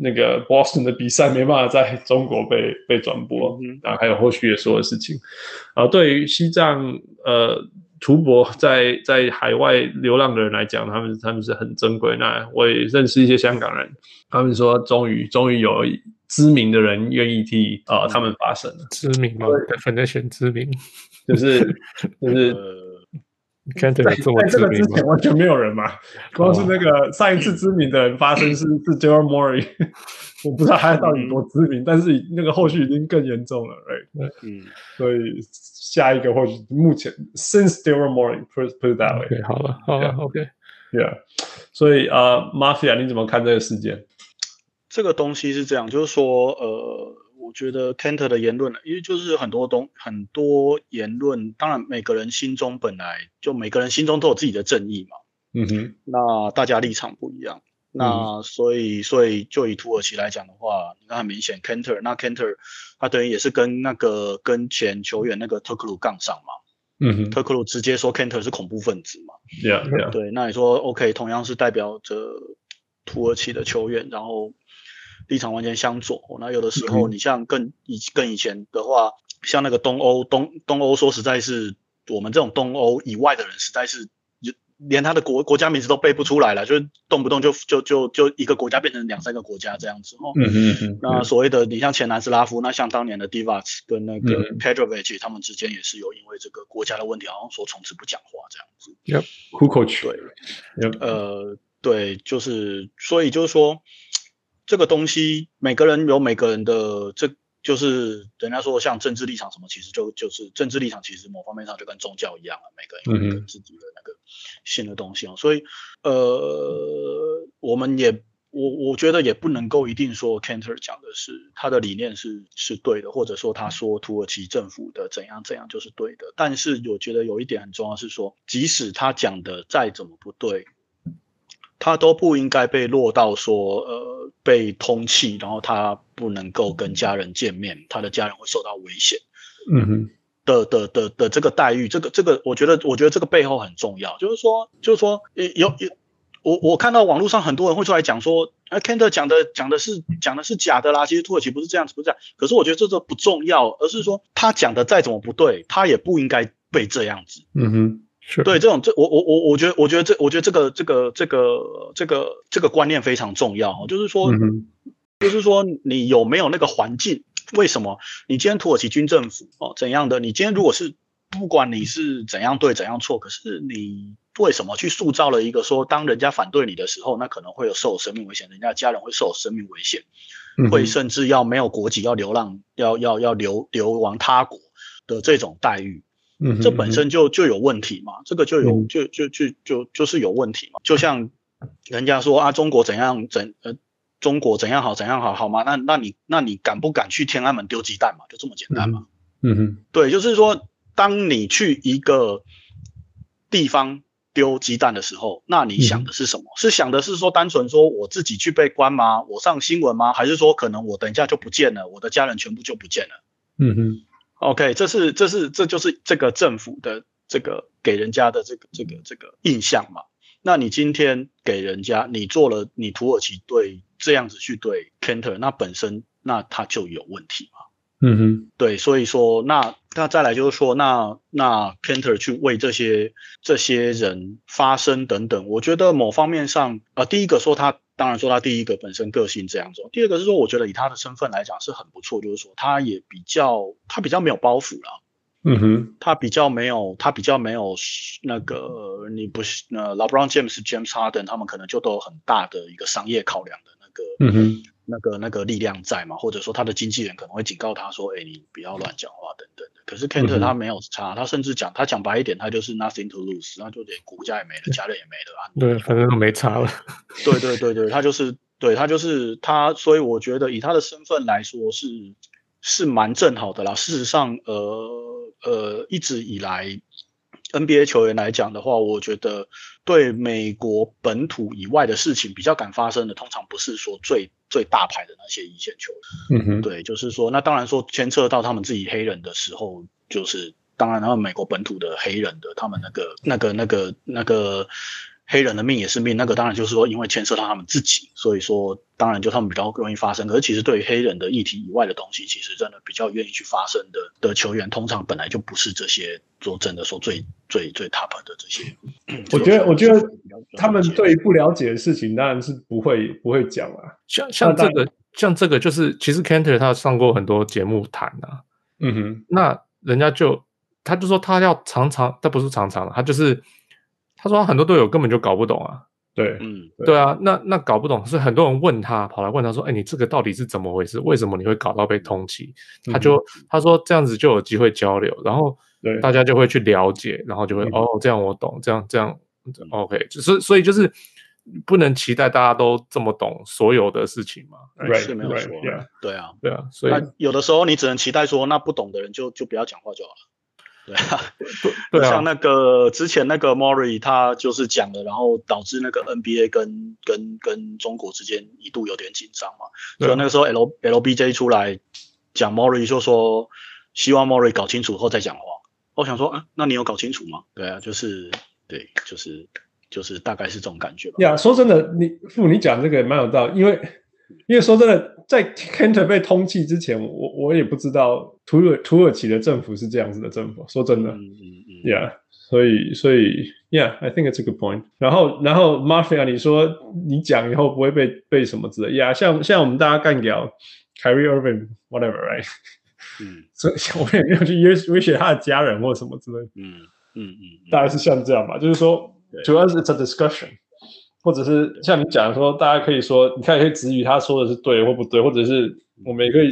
那個 Boston 的比賽沒辦法在中國被被轉播，嗯、然後還有後續的所有事情。啊，對於西藏呃圖博在在海外流浪的人來講，他們他們是很珍貴。那我也認識一些香港人，他們說終於終於有知名的人願意替啊、呃、他們發聲了。 知名嗎？反正選知名， 就是就是。 呃在, 在這個之前完全沒有人嘛，光是那個上一次知名的人發生是是 Daryl Morey， 我不知道他到底多知名，嗯、但是那個後續已經更嚴重了 ，right？ 嗯，所以下一個或許目前 since Daryl Morey put put it that way， okay, 好了，好了 ，OK， yeah， 所以呃 ，Mafia 你怎麼看這個事件？ 這個東西是這樣，就是說呃。我覺得 Kanter 的言論，因為就是很多東很多言論，當然每個人心中本來就每個人心中都有自己的正義嘛。 嗯哼， 那大家立場不一樣，那所以所以就以土耳其來講的話，你看很明顯 Kanter， 那 Kanter 他等於也是跟那個跟前球員那個特克魯槓上嘛。嗯哼，特克魯直接說 Kanter 是恐怖分子嘛。 Yeah, yeah. 對，那你說 OK， 同樣是代表着土耳其的球員，然後。立場完全相左，那有的時候你像更以更以前的話，像那個東歐東東歐，說實在是我們這種東歐以外的人，實在是連他的國國家名字都背不出來了，就是動不動就就就就一個國家變成兩三個國家這樣子哦。嗯嗯嗯。那所謂的你像前南斯拉夫，那像當年的 Divac 跟那個 Petrovic，、嗯、他們之間也是有因為這個國家的問題，好像說從此不講話這樣子。 Yep. Kukoc。 對。Yep. 呃，對，就是所以就是說。這個東西，每個人有每個人的，這就是人家說像政治立場什麼，其實就就是政治立場，其實某方面上就跟宗教一樣了，每個人有每個自己的那個信的東西哦。所以，呃，我們也我我覺得也不能夠一定說 Kanter 講的是他的理念是是對的，或者說他說土耳其政府的怎樣怎樣就是對的。但是我覺得有一點很重要是說，即使他講的再怎麼不對，他都不應該被落到說呃被通緝，然後他不能夠跟家人見面，他的家人會受到危險，嗯哼的的的的這個待遇，這個這個我覺得我覺得這個背後很重要，就是說就是說有有我我看到網絡上很多人會出來講說，呃 Kanter 講的講的是講的是假的啦，其實土耳其不是這樣子，不是這樣，可是我覺得這個不重要，而是說他講的再怎麼不對，他也不應該被這樣子，嗯哼。對，這種這我我我我覺得我覺得這我覺得這個這個這個這個這個觀念非常重要，就是說、嗯、就是說你有沒有那個環境？為什麼你今天土耳其軍政府哦怎樣的？你今天如果是不管你是怎樣對怎樣錯，可是你為什麼去塑造了一個說，當人家反對你的時候，那可能會有受生命危險，人家家人會受生命危險，嗯、會甚至要沒有國籍要流浪，要要要流流亡他國的這種待遇。嗯、這本身就就有問題嘛，這個就有、嗯、就就就就就是有問題嘛。就像人家說啊，中國怎樣怎呃，中國怎樣好怎樣好好嗎？那那你那你敢不敢去天安門丟雞蛋嘛？就這麼簡單嘛。嗯哼，對，就是說，當你去一個地方丟雞蛋的時候，那你想的是什麼？嗯、是想的是說單純說我自己去被關嗎？我上新聞嗎？還是說可能我等一下就不見了，我的家人全部就不見了？嗯哼。OK， 這是這是這就是這個政府的這個給人家的這個這個這個印象嘛。那你今天給人家你做了你土耳其對這樣子去對 Kanter， 那本身那他就有問題嘛。嗯哼，對，所以說那那再來就是說那那 Kanter 去為這些這些人發聲等等，我覺得某方面上呃第一個說他。當然說他第一個本身個性這樣子，第二個是說我覺得以他的身份來講是很不錯，就是說他也比較他比較沒有包袱啦，嗯哼，他比較沒有他比較沒有那個你不是呃 LeBron James James Harden 他們可能就都有很大的一個商業考量的那個嗯哼那個那個力量在嘛，或者說他的經紀人可能會警告他說，哎，你不要亂講話等等的。可是 Kanter 他沒有差，他甚至講他講白一點，他就是 nothing to lose， 那就連國家也沒了，家人也沒了啊。 對，反正都沒差了。 對對對對，他就是對他就是他，所以我覺得以他的身份來說是是蠻正好的啦。事實上，呃呃，一直以來 N B A 球員來講的話，我覺得對美國本土以外的事情比較敢發生的，通常不是說最最大牌的那些一線球員。嗯哼，對，就是說，那當然說牽扯到他們自己黑人的時候，就是當然他們美國本土的黑人的他們那個那個那個那個黑人的命也是命，那個當然就是說因為牽涉到他們自己，所以說當然就他們比較容易發生。可是其實對於黑人的議題以外的東西，其實真的比較願意去發生的的球員，通常本來就不是這些說真的說最最最 top 的這些。 我覺得我覺得他們對不了解的事情當然是不會不會講啊。 像像這個像這個就是其實 Kanter 他上過很多節目談啊，嗯哼，那人家就他就說他要常常，他不是常常，他就是他說他很多隊友根本就搞不懂啊。 對， 嗯，對啊，那那搞不懂，是很多人問他，跑來問他說：“哎，你這個到底是怎麼回事？為什麼你會搞到被通緝？”他就、嗯、他說這樣子就有機會交流，然後大家就會去了解，然後就會、嗯、哦，這樣我懂，這樣這樣 OK， 就是所以就是不能期待大家都這麼懂所有的事情嘛， right, 是沒有錯， right, yeah. 對啊， 對啊，所以有的時候你只能期待說，那不懂的人就就不要講話就好了。對啊， 對啊， 像那個之前那個 Murray 他就是講了，然後導致那個 N B A 跟跟跟中國之間一度有點緊張嘛。所以那個時候 L LBJ 出來講 Murray 就說希望 Murray 搞清楚後再講話。我想說，嗯，那你有搞清楚嗎？對啊，就是對，就是就是大概是這種感覺吧。 呀，說真的，你父你講這個也蠻有道理，因為因為說真的。在 Kanter 被通緝之前，我我也不知道土耳土耳其的政府是這樣子的政府。說真的，嗯嗯嗯 yeah， 所以所以 yeah，I think it's a good point。然後然後 Mafia， 你說你講以後不會被被什麼之類的呀？像像我們大家幹掉 Kyrie Irving whatever，right？ 嗯，所以我們也沒有去威威脅他的家人或什麼之類的。嗯嗯嗯，大概是像這樣吧，就是說主要是 it's a discussion。或者是像你講的說，大家可以說，你看可以質疑他說的是對或不對，或者是我們也可以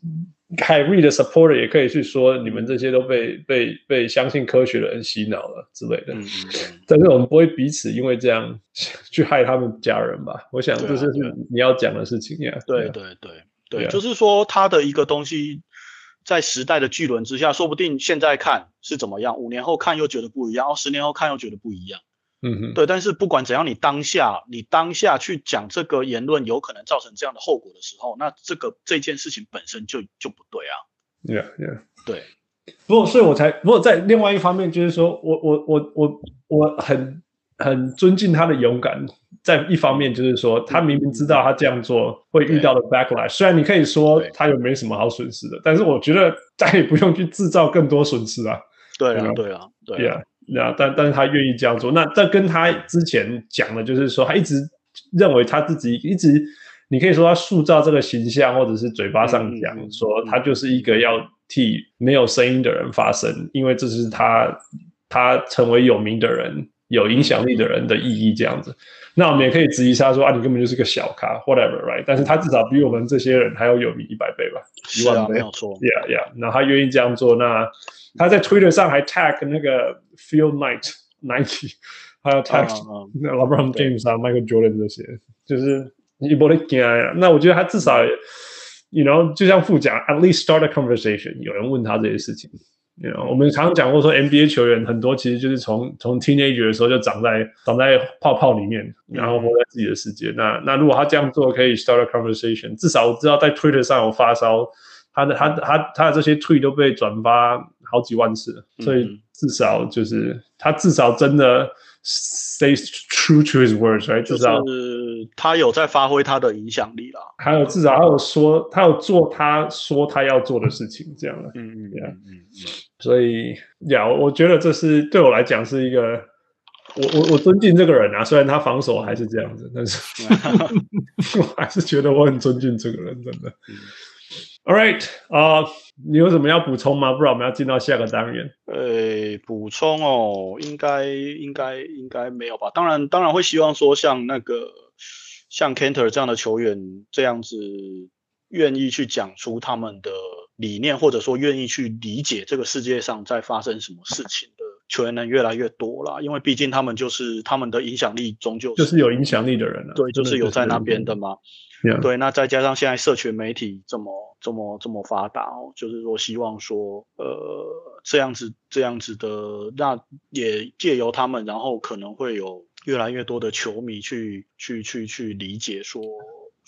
，Kyrie的 supporter 也可以去說，你們這些都被被被相信科學的人洗腦了之類的。嗯嗯。但是我們不會彼此因為這樣去害他們家人吧？我想這是你要講的事情呀。 對對對對，就是說他的一個東西，在時代的巨輪之下，說不定現在看是怎麼樣，五年後看又覺得不一樣，哦，十年後看又覺得不一樣。嗯哼，對，但是不管怎樣，你當下你當下去講這個言論有可能造成這樣的後果的時候，那這個這件事情本身就就不對啊。 Yeah, yeah， 對。 不過，所以我才不過在另外一方面，就是說我我我我我很很尊敬他的勇敢。在一方面，就是說他明明知道他這樣做會遇到的 backlash，雖然你可以說他又沒什麼好損失的，但是我覺得他也不用去製造更多損失啊。 對啊，對啊，對啊。 那但但是他願意這樣做，那這跟他之前講的，就是說他一直認為他自己一直，你可以說他塑造這個形象，或者是嘴巴上講、嗯、說他就是一個要替沒有聲音的人發聲，因為這是他他成為有名的人、有影響力的人的意義這樣子。那我們也可以質疑他說啊，你根本就是個小咖 ，whatever， right？ 但是他至少比我們這些人還要有名一百倍吧，一萬倍， 沒有錯。 Yeah, yeah。那他願意這樣做，那他在 Twitter 上還 tag 那個 Phil Knight Nike， 還有 tag、uh, uh, LeBron James 啊、Michael Jordan 這些，就是你不得驚呀。那我覺得他至少 ，you know， 就像副講 ，at least start a conversation。有人問他這些事情。You know, 我們常常講過說 N B A 球員很多其實就是從從 teenager 的時候就長在長在泡泡裡面，然後活在自己的世界。嗯、那那如果他這樣做可以 start a conversation， 至少我知道在 Twitter 上有發燒，他的他他他的這些 tweet 都被轉發好幾萬次，所以至少就是他至少真的 stay true to his words，right？ 至少就是他有在發揮他的影響力啦。 還有至少他有說他有做他說他要做的事情，這樣的。嗯嗯嗯嗯。所以呀，我覺得這是對我來講是一個，我我我尊敬這個人啊，雖然他防守還是這樣子，但是我還是覺得我很尊敬這個人，真的。All right， 啊、uh, 你有什麼要補充嗎？不然我們要進到下個單元。 呃，補充哦，應該應該應該沒有吧？當然當然會希望說像那個像 Kanter 這樣的球員這樣子願意去講出他們的理念，或者說願意去理解這個世界上在發生什麼事情的球員能越來越多啦，因為畢竟他們就是他們的影響力終究是就是有影響力的人了、啊， 對，就是有在那邊的嘛。 Yeah. 對，那再加上現在社群媒體這麼這麼這麼發達哦，就是說希望說呃這樣子這樣子的，那也借由他們，然後可能會有越來越多的球迷去去去去理解說。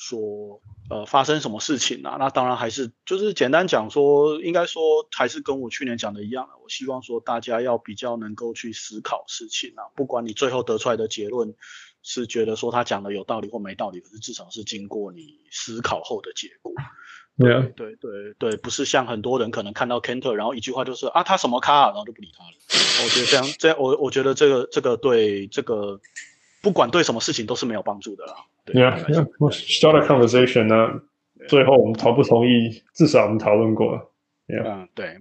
說呃發生什麼事情啊？那當然還是就是簡單講說，應該說還是跟我去年講的一樣，我希望說大家要比較能夠去思考事情啊，不管你最後得出來的結論是覺得說他講的有道理或沒道理，可是至少是經過你思考後的結果。對、啊、對對對，不是像很多人可能看到 Kanter， 然後一句話就是啊他什麼咖、啊，然後就不理他了。我覺得這樣這樣我我覺得這個這個對這個不管對什麼事情都是沒有幫助的啦。 Yeah, yeah. Start a conversation 呢，最後我們同不同意，至少我們討論過了。Yeah. 嗯，對。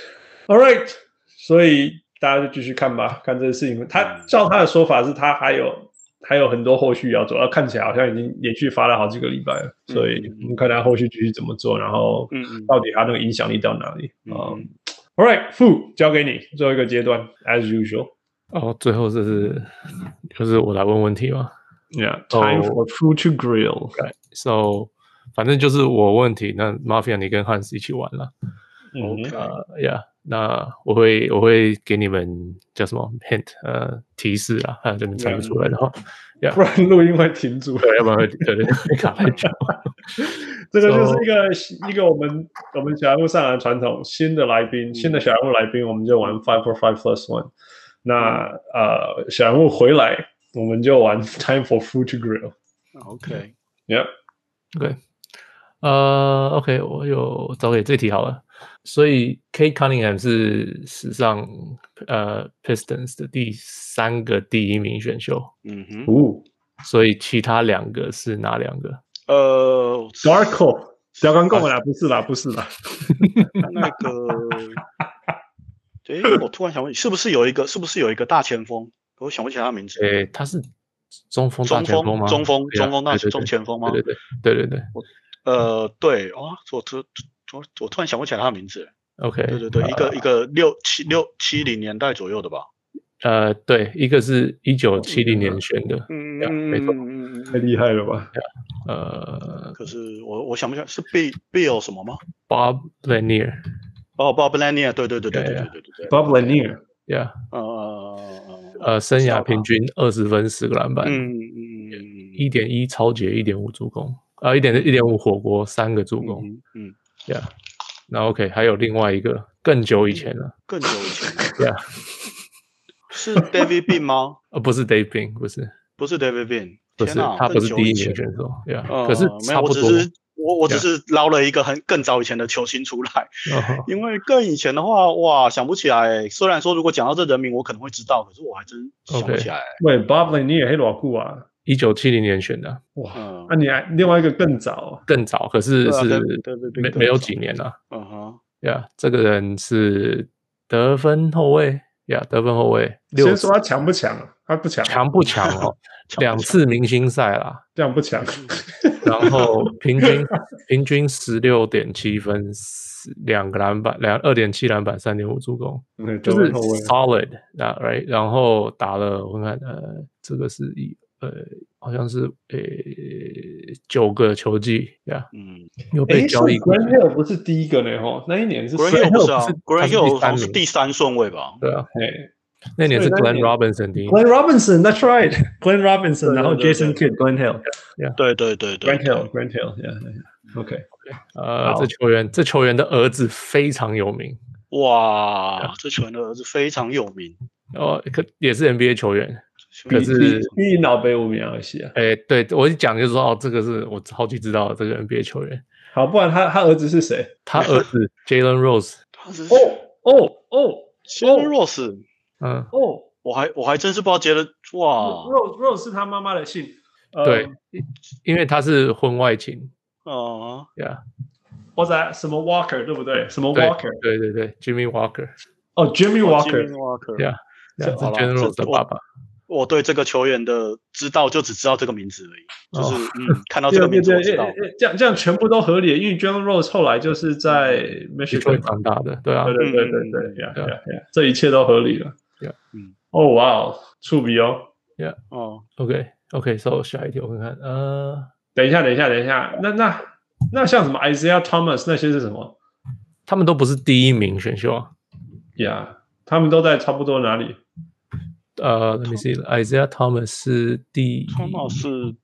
All right， 所以大家就繼續看吧，看這個事情。他照他的說法是，他還有還有很多後續要做，而看起來好像已經連續發了好幾個禮拜了。嗯、所以我們看他後續繼續怎麼做，然後到底他那個影響力到哪裡。嗯。Um, All right， Fu 交給你最後一個階段 ，as usual。 哦，最後這是就是我來問問題嗎？ Yeah, time for Fu to grill. Right. So, 反正就是我問題，那 Mafia 你跟 Hans 一起玩了。 OK， 呃、uh, Yeah， 那我會我會給你們叫什麼 hint 呃提示啊，看你們猜不出來的話， yeah. 不然錄音會停住， 對，要不然會對對會卡太久。 這個就是一個、so, 一個我們我們小人物上來的傳統，新的來賓，新的小人物來賓，我們就玩 five for five plus one。那呃小人物回來。我們就玩 Time for Fu to Grill。OK， Yep， OK， 呃 ，OK， 我有找給這題好了。所以 Kate Cunningham 是史上呃 Pistons 的第三個第一名選秀。 嗯哼， 哦， 所以其他兩個是哪兩個？ 呃 ，Darko， 剛剛講的啦，不是啦，不是啦。 那個，對，我突然想問，是不是有一個，是不是有一個大前鋒？我想不起來他名字。 誒，他是中鋒大前鋒嗎？ 中鋒，中鋒大中前鋒嗎？ 對對對對對對。 呃，對啊，我我我我突然想不起來他的名字。 OK， 對對對，一個一個六七六七零年代左右的吧。 呃，對，一個是一九七零年選的， 嗯， 沒錯， 太厲害了吧？ 呃， 可是我我想不起來是 Bill Bill 什麼嗎 ？Bob Lanier。 哦 ，Bob Lanier， 對對對對对對对对 ，Bob Lanier，Yeah， 呃呃，生涯平均二十分十個籃板， 嗯嗯一點一抄截，一點五助攻，啊，一點一點五火鍋，三個助攻， 嗯 ，Yeah， 那 OK， 還有另外一個更久以前了， 更久以前 ，Yeah， 是 David Bean 嗎？ 呃，不是 David Bean， 不是， 不是 David Bean， 不是，他不是第一名選手 ，Yeah， 可是差不多。 我我只是撈了一個很更早以前的球星出來， yeah. 因為更以前的話，哇，想不起來。雖然說如果講到這人名，我可能會知道，可是我還真想不起來。 喂 ，Bob Lanier 還多久啊？ 一九七零年選的。 哇，那、嗯啊、你還另外一個更早， 更早，可是是沒沒有幾年了。 嗯哼， 呀，這個人是得分後衛，呀、yeah, ，得分後衛。 先說他強不強？他不強， 強不強哦？兩次明星賽啦， 這樣不強。 然後平均平均十六點七分，兩個籃板，兩二點七籃板，三點五助攻， 嗯、 就是 solid， right？ 然後打了，我看呃，這個是一呃，好像是呃九個球季呀， yeah, 嗯， 有被交易過。 Grant Hill 不是第一個呢，吼，那一年是 Grant Hill 不是啊 ，Grant Hill 是第三順位吧？ 對啊，嘿。那年是 Glenn Robinson 第一 ，Glenn Robinson，That's right，Glenn Robinson， 然後 Jason Kidd，Glenn Hill， 對對對對 ，Grant Hill，Grant Hill，Yeah，OK， 呃，這球員這球員的兒子非常有名， 哇，這球員的兒子非常有名， 哦，可也是 N B A 球員，可是比老輩無名而已啊， 哎，對我一講就說哦，這個是我超級知道的這個 N B A 球員， 好，不然他他兒子是誰？ 他兒子 Jalen Rose， 哦哦哦 ，Jalen Rose。 嗯哦， 我還我還真是不知道傑倫哇 ，Rose Rose 是他媽媽的姓， 對，呃、因為他是婚外情哦， 對啊， 或者什麼 Walker 對不對？什麼 Walker？ 對對對 ，Jimmy Walker， 哦 ，Jimmy Walker， Jimmy Walker， 對啊，是 Jalen Rose 的爸爸。 我對這個球員的知道就只知道這個名字而已，就是、哦、嗯，看到這個名字我知道， 對對對，這樣這樣全部都合理，因為 Jalen Rose 後來就是在 Michigan 長大的，對啊， 對對對對對，嗯、yeah, yeah, yeah, 這一切都合理了。 Yeah, 嗯， 哦哇哦，觸筆哦 ，Yeah， 哦 ，OK OK，So 下一題我看看，呃， 等一下等一下等一下，那那那像什麼 Isaiah Thomas 那些是什麼？ 他們都不是第一名選秀啊， 呀、yeah, 他們都在差不多哪裡？ 呃 ，Let me see，Isaiah Thomas 是第 ，Thomas 是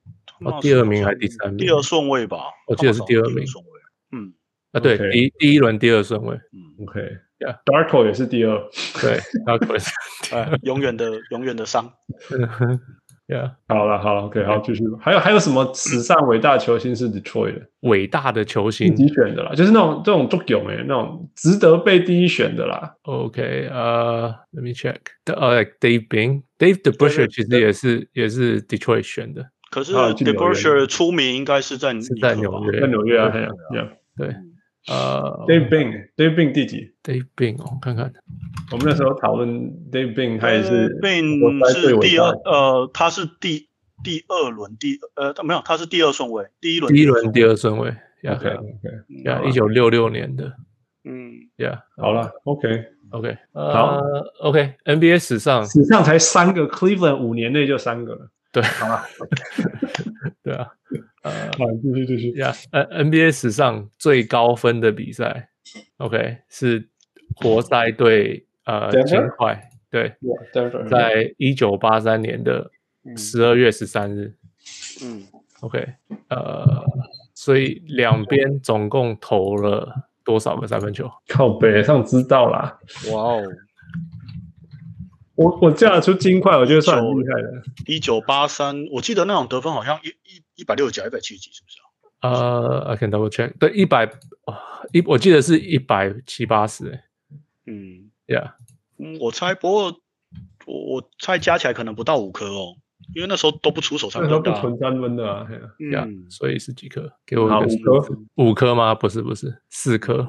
哦，第二名還是第三名？ 第二順位吧， 我記得是第二名。 嗯， 啊，對， okay. 第一第一輪第二順位。 嗯 ，OK，Darko、yeah. 也是第二。 對 ，Darko 也是第二。 永遠的永遠的傷。 Yeah. 好了，好了 ，OK， 好，繼續。還有還有什麼史上偉大球星是 Detroit 的？ 偉大的球星自己選的啦，就是那種這種足球誒，那種值得被第一選的啦。 OK， 呃、uh, ，Let me check。呃、uh,，Dave Bing，Dave DeBusschere 其實也是也是 Detroit 選的。 可是 DeBusschere 出名應該是在是在紐約， 在紐約啊，對。 對，呃 ，Dave Bing，Dave Bing 第幾 ？Dave Bing，我看看。 我們那時候討論 Dave Bing，他也是 Bing 是第二，呃，他是第第二輪第呃沒有，他是第二順位，第一輪第一輪第二順位。 OK OK，呀，一九六六年的， 嗯， 呀， 好了 ，OK OK，好 OK，N B A 史上史上才三個 ，Cleveland 五年內就三個了。 對， 好了， 對啊，呃， 好，繼續繼續。 呀，呃 ，N B A 史上最高分的比賽 ，OK， 是活塞對。呃，金塊對， yeah, 在一九八三年的十二月十三日， 嗯 ，OK， 呃，所以兩邊總共投了多少個三分球？ 靠北上知道啦， 哇哦， 我我叫得出金塊，我覺得算很厲害的。 一九八三，我記得那種得分好像一一一百六十幾、一百七十幾，是不是啊？呃、uh, ，I can double check， 對，一百一，我記得是一百七八十，哎， 嗯。 Yeah， 嗯，我猜，不過我我猜加起來可能不到五顆哦，因為那時候都不出手三分的、啊， 那時候不存三分的啊， 嗯， yeah, 所以是幾顆？給我一個五顆，五顆嗎？不是，不是，四顆。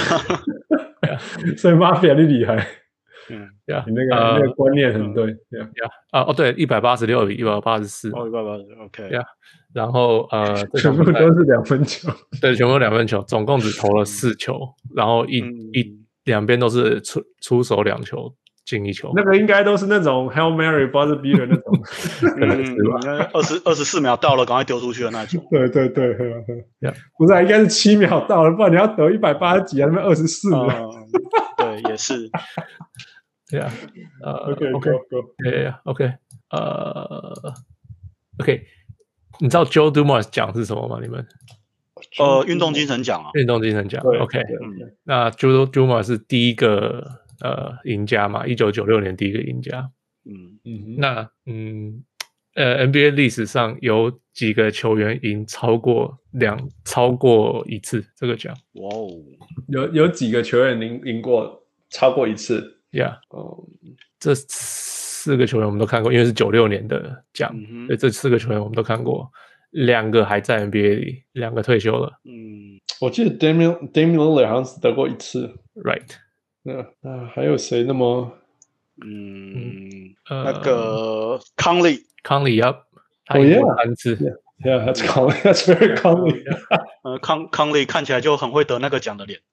所以 Mafia 你厲害， 嗯， 呀，你那個、呃、那個觀念很對，呀， 呀，啊，哦，對，一百八十六比一百八十四， 哦，一百八十 ，OK， 呀，然後呃， 全部都是兩分球， 對，全部兩分球，總共只投了四球，然後一、嗯、一。兩邊都是出出手兩球進一球， 那個應該都是那種 Hail Mary buzzer beater 那種， 可能是吧？ 二十二十四秒到了，趕快丟出去的那種。 對對對，呵呵 yeah. 不是、啊，應該是七秒到了，不然你要得一百八十幾啊，那邊二十四秒。 對，也是。 對啊，呃 ，OK OK Go， 對呀 ，OK， 呃 ，OK， 你知道 Joe Dumars 獎是什麼嗎？你們？ 呃，運動精神獎啊， 運動精神獎 ，OK，嗯，那 Joe Dumars 是第一個呃贏家嘛，一九九六年第一個贏家， 嗯嗯，那嗯呃 N B A 歷史上有幾個球員贏超過兩超過一次這個獎？ 哇哦， 有有幾個球員贏贏過超過一次？ 呀，哦，這四個球員我們都看過，因為是九六年的獎，嗯，所以這四個球員我們都看過。兩個還在 N B A 裡，兩個退休了。 嗯，我記得 Damian Damian Lillard 好像是得過一次。 Right。 那那還有誰那麼？ 嗯，呃、那個 Conley Conley Up， 他贏過三次。 Yeah, that's Conley. That's very Conley. 呃，康 Conley 看起來就很會得那個獎的臉。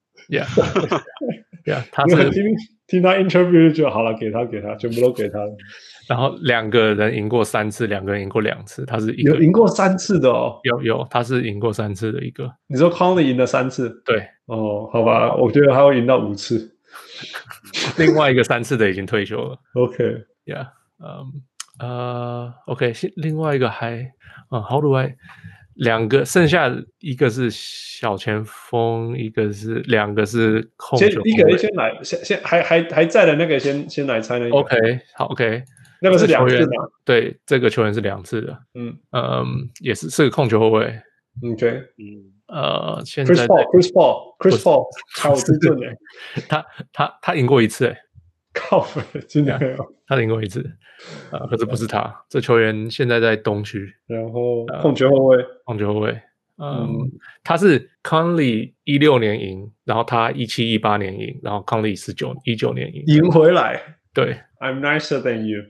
Yeah。Yeah， 他是聽聽他 interview 就好了，給他給他，全部都給他。 然後兩個人贏過三次，兩個人贏過兩次，他是一個有贏過三次的哦， 有有，他是贏過三次的一個。 你說 Conley 贏了三次？ 對， 哦，好吧，我覺得他會贏到五次。 另外一個三次的已經退休了。 OK，Yeah， 嗯呃 ，OK， 另外一個還啊 ，How do I？兩個，剩下一個是小前鋒，一個是兩個是控球。 先一個人先來，先先還還還在的那個先先來猜那個。 OK， 好 OK。 那個是兩次的， 對，這個球員是兩次的，嗯嗯，也是是個控球後衛 ，OK， 嗯，呃，現在 Chris Paul，Chris Paul，Chris Paul， 超之准誒， 他他他贏過一次誒， 靠北，真的沒有， 他贏過一次，呃，可是不是他，這球員現在在東區， 然後控球後衛， 控球後衛，嗯，他是 Conley 一六年贏，然後他一七一八年贏，然後 Conley 十九一九年贏， 贏回來， 對 ，I'm nicer than you。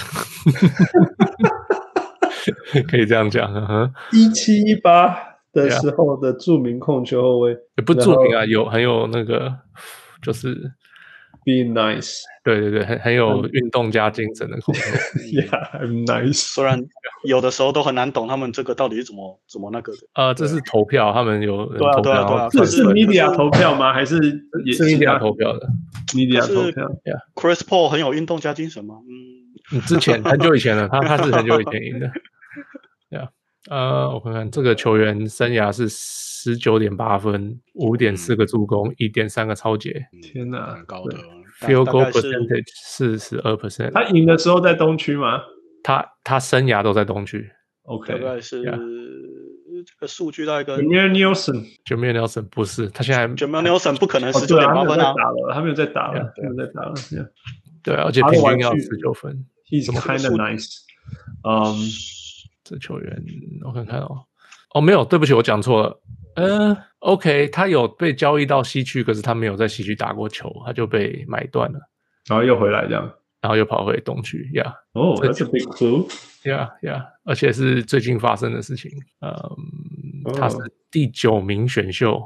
可以這樣講， 一七一八的時候的著名控球後衛， 也不著名啊，有很有那個，就是 be nice， 對對對，很很有運動家精神的控球。 Yeah, I'm nice。 雖然有的時候都很難懂他們這個到底是怎麼怎麼那個的。 呃，這是投票，他們有人投票。 對啊對啊， 這是 media 投票嗎？還是也是 media 投票的 ？media 投票。 Chris Paul 很有運動家精神嗎？嗯。 你之前很久以前了，他他是很久以前贏的，對啊。 呃，我看看這個球員生涯是十九點八分，五點四個助攻，一點三個抄截。 天哪， 很高的 field goal percentage 四十二 percent。 他贏的時候在東區嗎？ 他他生涯都在東區。 OK， 大概是。這個數據大概跟 Jameer Nelson，Jameer Nelson 不是，他現在 Jameer Nelson 不可能十九點八分啊， 他沒有在打了，他沒有在打了， 對，而且平均要十九分 ，He's kind of nice。嗯， 這球員我看看哦，哦沒有，對不起，我講錯了，嗯 ，OK， 他有被交易到西區，可是他沒有在西區打過球，他就被買斷了， 然後又回來這樣。 然後又跑回東區 ，Yeah， 哦、oh, ，That's a big clue。 Yeah, yeah， 而且是最近發生的事情。嗯， oh. 他是第九名選秀。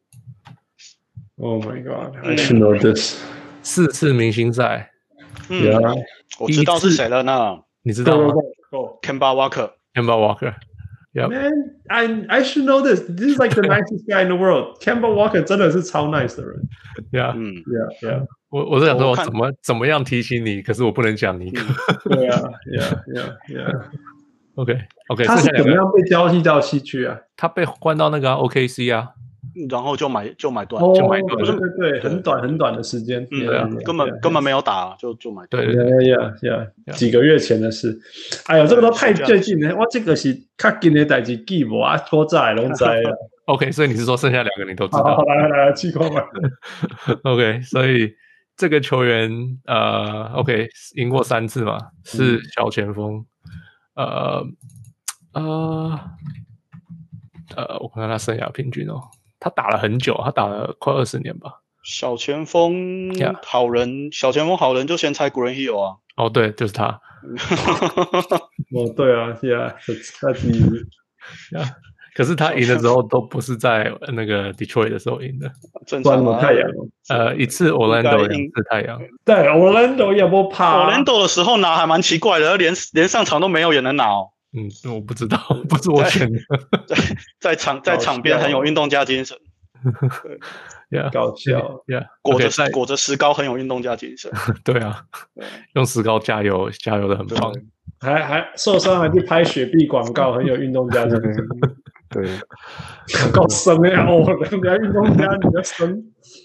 Oh my god, I should know this。 四次明星賽。 嗯， yeah. 我知道是誰了呢？ 你知道嗎 ？Kemba Walker。Kemba Walker。Yep. Man, I I should know this. This is like the nicest guy in the world. Kemba Walker 真的是超 nice 的人。 Yeah， 嗯 ，Yeah, Yeah。 我我是想說，我怎麼怎麼樣提醒你？可是我不能講尼克。 對啊 ，Yeah, Yeah, Yeah。OK, OK。 他是怎麼樣被交易到西區啊？ 他被換到那個 O K C 啊， 然後就買就買斷， 就買斷。對對對，很短很短的時間。 嗯，對啊，根本根本沒有打，就就買斷。 對對 ，Yeah, Yeah，幾個月前的事。哎呦，這個都太最近了，我這個是較近的代誌記無啊，拖在攏知了。 OK， 所以你是說剩下兩個你都知道？ 好，來來來，氣空吧。 OK， 所以。這個球員呃 ，OK， 贏過三次嘛，是小前鋒，呃呃呃，我看看他生涯平均哦，他打了很久，他打了快二十年吧。 小前鋒好人， yeah. 小前鋒好人就先猜 Grant Hill 啊。 哦，對，就是他。 哦，對啊 ，Yeah， 他第一。 Yeah. 可是他贏的時候都不是在那個 Detroit 的時候贏的， 正常嗎？ 太陽， 呃，一次 Orlando， 兩次太陽。 對 ，Orlando 也不怕。 Orlando 的時候拿還蠻奇怪的，連連上場都沒有也能拿哦。 嗯，我不知道，不是我選的。 在在場在場邊很有運動家精神。 對， 搞笑 ，Yeah， 裹着裹着石膏很有運動家精神。對啊，用石膏加油，加油的很棒。 還還受傷還去拍雪碧廣告，很有運動家精神。 對， 夠深呀！哦，人家運動家比較深。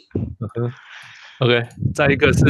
OK， 再一個是，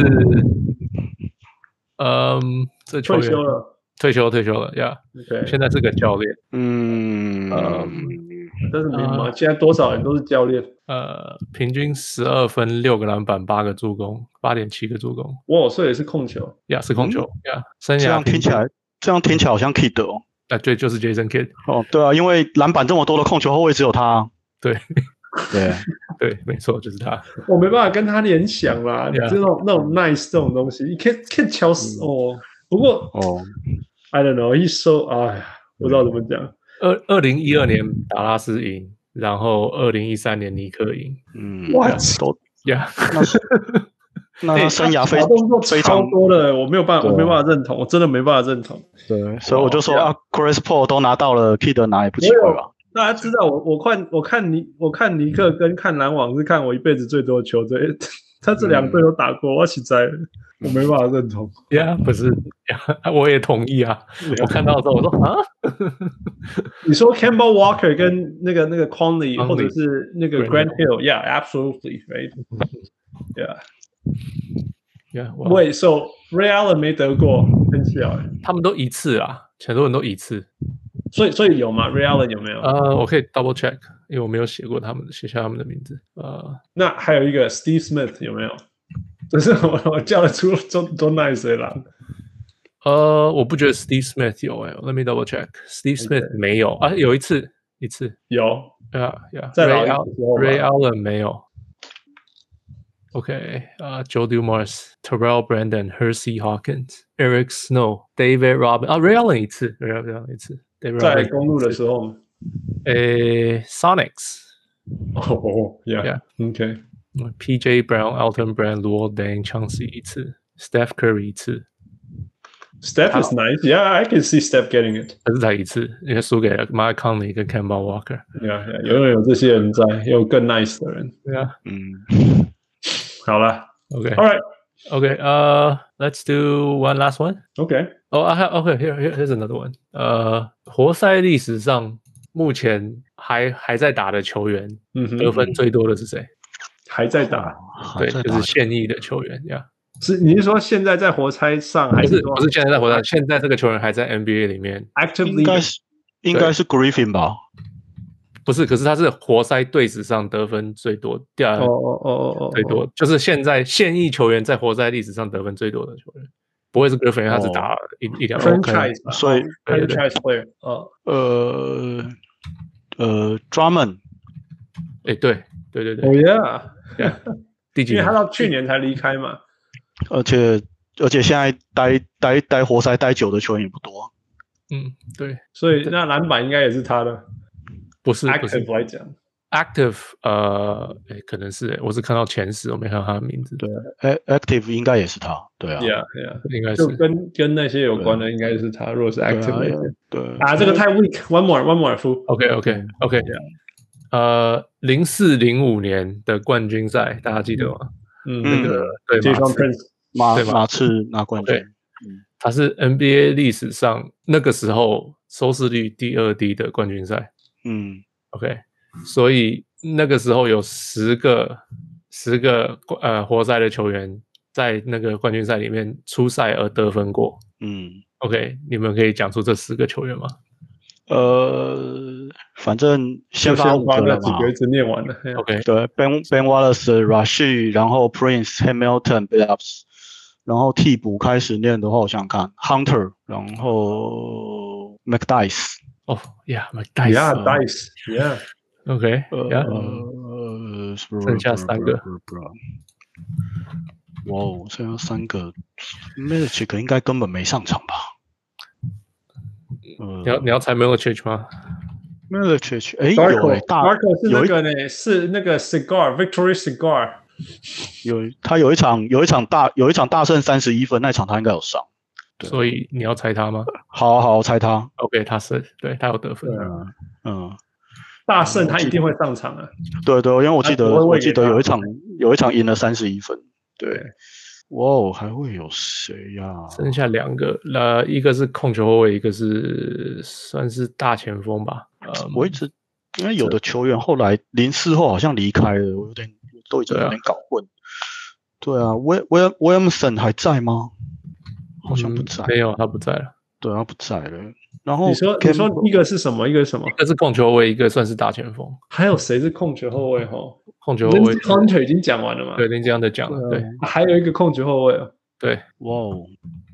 嗯，這球員退休了， 退休退休了呀。Yeah, 現在是個教練。 嗯嗯， 但是沒嘛，現在多少人都是教練。 呃，平均十二分，六個籃板，八個助攻，八點七個助攻。 哇，所以也是控球。 呀， yeah, 是控球。呀、嗯，生涯這樣聽起來，這樣聽起來好像 Kidd 哦。 啊，對，就是 Jason Kidd。 哦，對啊，因為籃板這麼多的控球後衛只有他、啊。 對， 對， 對，沒錯，就是他。 我沒辦法跟他聯想啦， yeah. 這種那種 nice 這種東西，你 Kidd Kidd 敲死哦。不過哦 ，I don't know，he's so， 哎呀，不知道怎麼講。 二二零一二年達拉斯贏，然後二零一三年尼克贏。 嗯 ，What？ 呀， 那他生涯非常動作超多的，我沒有辦法，我沒辦法認同，我真的沒辦法認同。 對，所以我就說啊 ，Chris Paul 都拿到了 ，Kidd 拿也不奇怪吧？ 大家知道我我看我看尼我看尼克跟看籃網是看我一輩子最多的球隊，他這兩隊都打過，我實在我沒辦法認同。 呀，不是，我也同意啊。我看到的時候我說啊， 你說 Kemba Walker 跟那個那個 Conley 或者是那個 Grant Hill，Yeah，absolutely，right？Yeah。 Yeah, wow. Wait, so Ray Allen 沒得過，很小哎。 他們都一次啊，很多人都一次。 所以所以有嗎 ？Ray Allen 有沒有？ 呃，我可以 double check， 因為我沒有寫過他們，寫下他們的名字。呃， 那還有一個 Steve Smith 有沒有？就是我我叫得出多多 nice 的啦。 呃，我不覺得 Steve Smith 有哎、欸、，Let me double check。Steve Smith、okay. 沒有啊，有一次一次有。 Yeah, yeah. 在 Ray, Ray Allen 沒有。OK， 啊、uh, ，Joe Dumars、Terrell Brandon、Hersey Hawkins、Eric Snow、David Robinson 啊 ，Ray Allen 一次 ，Ray Allen 一次。 在公路的時候， 誒 ，Sonics。 哦 ，Yeah，OK。P J Brown、Elton Brand、Luol Deng、Chauncey 一次 ，Steph Curry 一次。 Steph is nice，Yeah，I can see Steph getting it。 可是才一次，因為輸給了 Mike Conley 跟 Kemba Walker。 Yeah，永遠有這些人在，也有更 nice 的人。 對啊， 嗯。好了 ，OK， All right， Okay, uh, let's do one last one. Okay. Oh, I have okay. Here, here, here's another one. 呃，活塞歷史上目前還還在打的球員，嗯、得分最多的是誰？ 還在打， 對，就是現役的球員呀。 是你是說現在在活塞上還是？ 不是，不是現在在活塞，現在這個球員還在 N B A 裡面 ，actively 應該是應該是 Griffin 吧？ 不是，可是他是活塞隊史上得分最多，第二，哦哦哦哦，最多就是現在現役球員在活塞歷史上得分最多的球員，不會是 Griffin，他只打一一兩 franchise， 所以 franchise player，哦， 呃呃 ，Drummond， 哎，對對對對， 哦 yeah， 第幾年？ 因為他到去年才離開嘛， 而且而且現在待待待活塞待久的球員也不多， 嗯，對， 所以那籃板應該也是他的。 不是 active 來講 ，active 呃，誒可能是，我是看到前十，我沒看到他的名字。 對 ，active 應該也是他，對啊 ，Yeah Yeah， 應該是就跟跟那些有關的，應該是他。如果是 active 來講， 對啊，這個太 weak，one more，one more，夫 ，OK OK OK，呃，零四零五年的冠軍賽，大家記得嗎？嗯，那個對馬馬刺拿冠軍， 他是 N B A 歷史上那個時候收視率第二低的冠軍賽。 嗯 ，OK， 所以那個時候有十個十個呃活塞的球員在那個冠軍賽裡面出賽而得分過。 嗯 ，OK， 你們可以講出這十個球員嗎？ 呃，反正先發五個了嘛， 幾個一直念完了。 OK， 對 ，Ben Ben Wallace、Rasheed， 然後 Prince、Hamilton、Billups， 然後替補開始念的話，我想想看 ，Hunter， 然後 McDyess。 哦、oh, ，Yeah， McDyess， Yeah， Dice，Yeah，OK，Yeah， 呃， 剩下三個， 哇哦，剩下三個 ，Milicic 應該根本沒上場吧？ 呃、你要你要猜 Milicic 嗎 ？Milicic， 哎，有哎，大 Marco 是那個呢，是那個 Cigar，Victory Cigar， 有他有一場有一場大有一場大勝三十一分，那場他應該有上。 所以你要猜他嗎？ 好好，我猜他。 OK， 他是對他有得分。 嗯嗯， 大勝他一定會上場啊。 對對，因為我記得我記得有一場有一場贏了三十一分。對，哇哦，還會有誰呀、啊？ 剩下兩個，呃，一個是控球後衛，一個是算是大前鋒吧。嗯、 我一直因為有的球員後來零四後好像離開了，我有點都已經有點搞混。對啊，威威 Williamson 還在嗎？好像不在、嗯， 沒有，他不在了。 對，他不在了。然後你說，你說一個是什麼？一個是什麼？ 一個是控球後衛，一個算是大前鋒。 還有誰是控球後衛？哈， 控球後衛 Hunter 已經講完了嘛？ 對，林這樣的講了。對， 還有一個控球後衛哦。 對， 哇哦，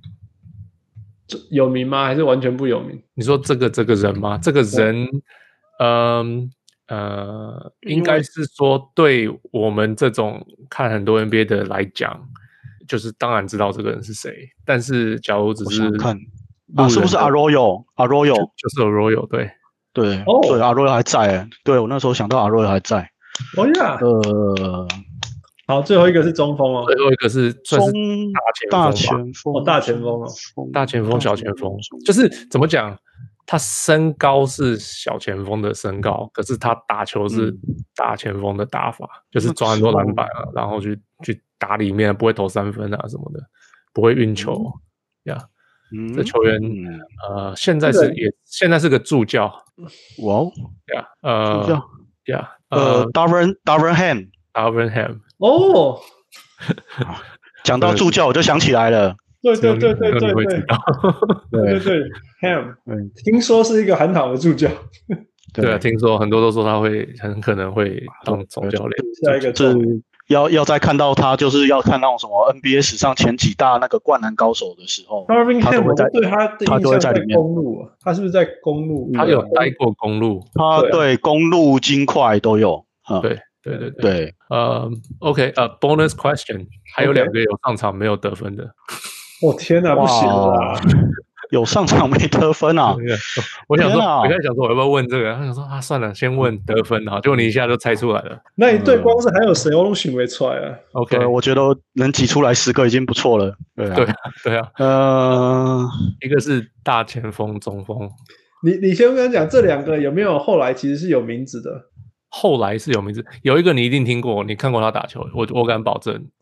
有名嗎？還是完全不有名？ 你說這個這個人嗎？這個人，嗯呃，應該是說對我們這種看很多 N B A 的來講。就是當然知道這個人是誰，但是假如只是看啊，是不是 Arroyo？Arroyo 就, 就是 Arroyo， 對對、 哦、 對 Arroyo 還在哎，對我那時候想到 Arroyo 還在。 哦呀，呃，好，最後一個是中鋒哦， 最後一個是算是大前鋒， 大前鋒哦， 大前鋒、小前鋒，就是怎麼講？他身高是小前鋒的身高，可是他打球是大前鋒的打法，嗯、就是抓很多籃板啊，然後去去打裡面，不會投三分啊什麼的，不會運球呀。嗯 yeah, 嗯、這球員、嗯、呃，現在是也現在是個助教， 哇哦呀，呃，助教呀， 呃 ，Darvin Darvin Ham，Darvin Ham， 哦， 講到助教我就想起來了。 對對對對對對，對對對 ，Ham， 聽說是一個很好的助教。 對啊，聽說很多都說他會很可能會當總教練。 下一個是要要再看到他，就是要看到什麼 N B A 史上前幾大那個灌籃高手的時候，他都會在， 對他的印象在公路，他是不是在公路？ 他有待過公路， 他對公路、金塊都有。 對對對對， 呃 ，OK， 呃 ，bonus question， 還有兩個有上場沒有得分的。 我、哦、天哪，不行啦！ 有上場沒得分啊！ 我想說，我剛才想說我要不要問這個，他想說啊，算了，先問得分啊，結果你一下就猜出來了。 那一隊光是還有誰我都選不出來啊 ？OK， 我覺得能擠出來十個已經不錯了。對啊， 對啊，對啊。呃，一個是大前鋒、中鋒。 你你先跟他講，這兩個有沒有後來其實是有名字的？ 後來是有名字，有一個你一定聽過，你看過他打球，我我敢保證。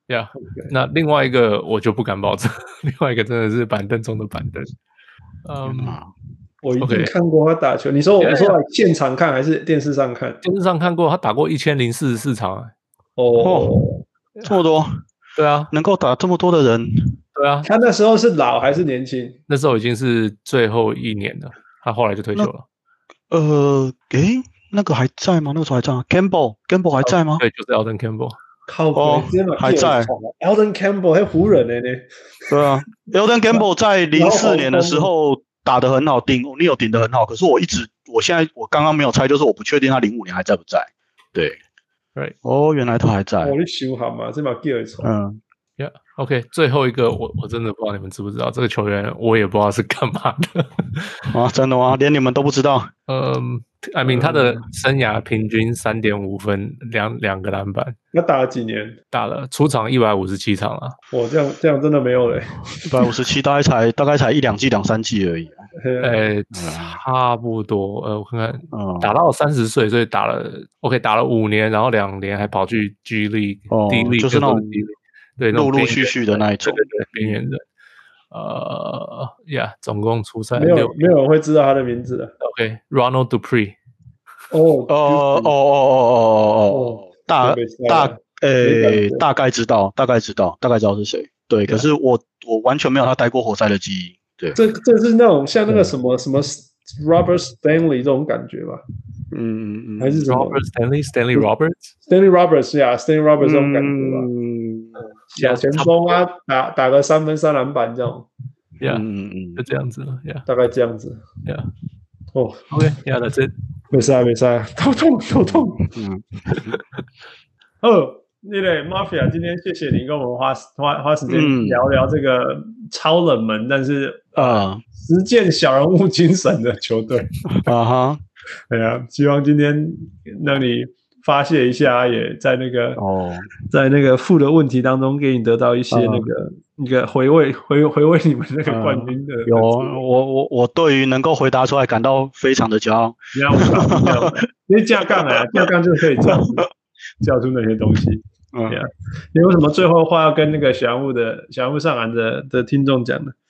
呀、yeah, 那另外一個我就不敢保證，另外一個真的是板凳中的板凳。嗯、um, 我一定看過他打球。Okay. 你說我說來現場看還是電視上看？ 電視上看過，他打過一千零四十四場。 哦、oh, ，這麼多？ 對啊， 能夠打這麼多的人， 對啊。 他那時候是老還是年輕？ 那時候已經是最後一年了，他後來就退休了。 呃，誒，那個還在嗎？那個時候還在嗎 ？Campbell Campbell 還在嗎？ 對，就是 Elden Campbell。 靠哦，還在 Elden Campbell 還湖人呢呢。 對啊，Elden Campbell 在零四年的時候打得很好，頂你有頂得很好。可是我一直，我現在我剛剛沒有猜，就是我不確定他零五年還在不在。對， 對， 哦，原來他還在。 哦，你修好嘛？這把 gear 錯。嗯 ，Yeah，OK， 最後一個我我真的不知道你們知不知道這個球員，我也不知道是幹嘛的。 啊，真的嗎？連你們都不知道？ 嗯。I mean， 他的生涯平均三點五分，兩兩個籃板。 那打了幾年？ 打了出場一百五十七場了。 哇，這樣這樣真的沒有嘞。 一百五十七大概才大概才一兩季兩三季而已。 呃，差不多。呃，我看看，嗯、打到三十歲，所以打了 OK， 打了五年，然後兩年還跑去 G League、 哦、 D League， 就是那種對， 陸陸續續的那一種， 對對對，邊緣人。呃呀， yeah, 總共出賽沒有沒有人會知道他的名字的。 OK，Ronald、okay, Dupree。 哦哦哦哦哦哦哦，大大誒，大概知道，大概知道，大概知道是誰。對，可是我我完全沒有他待過活塞的記憶。對， 這這是那種像那個什麼什麼 Robert Stanley 這種感覺吧？ 嗯嗯嗯， 還是什麼 Robert Stanley Stanley Roberts？Stanley Roberts 呀 ，Stanley Roberts 這種感覺吧？ 嗯， 小前鋒啊，打打個三分三籃板這種。 Yeah， 嗯嗯，就這樣子了。Yeah， 大概這樣子。 Yeah。 哦 ，OK，Yeah，that's it。 沒事啊，沒事啊，頭痛，頭痛。嗯。哦，那個 Mafia， 今天謝謝你跟我們花花花時間聊聊這個超冷門，嗯、但是啊，實踐小人物精神的球隊。 啊哈， 對啊，希望今天讓你發洩一下，也在那個哦，在那個負的問題當中，給你得到一些那個。嗯一個回味回回味你們那個冠軍的、嗯、 有我我我對於能夠回答出來感到非常的驕傲。 不要因為架槓啊，架槓就可以叫出叫出那些東西。嗯，你有什麼最後話要跟那個小人物的小人物上籃的的聽眾講的？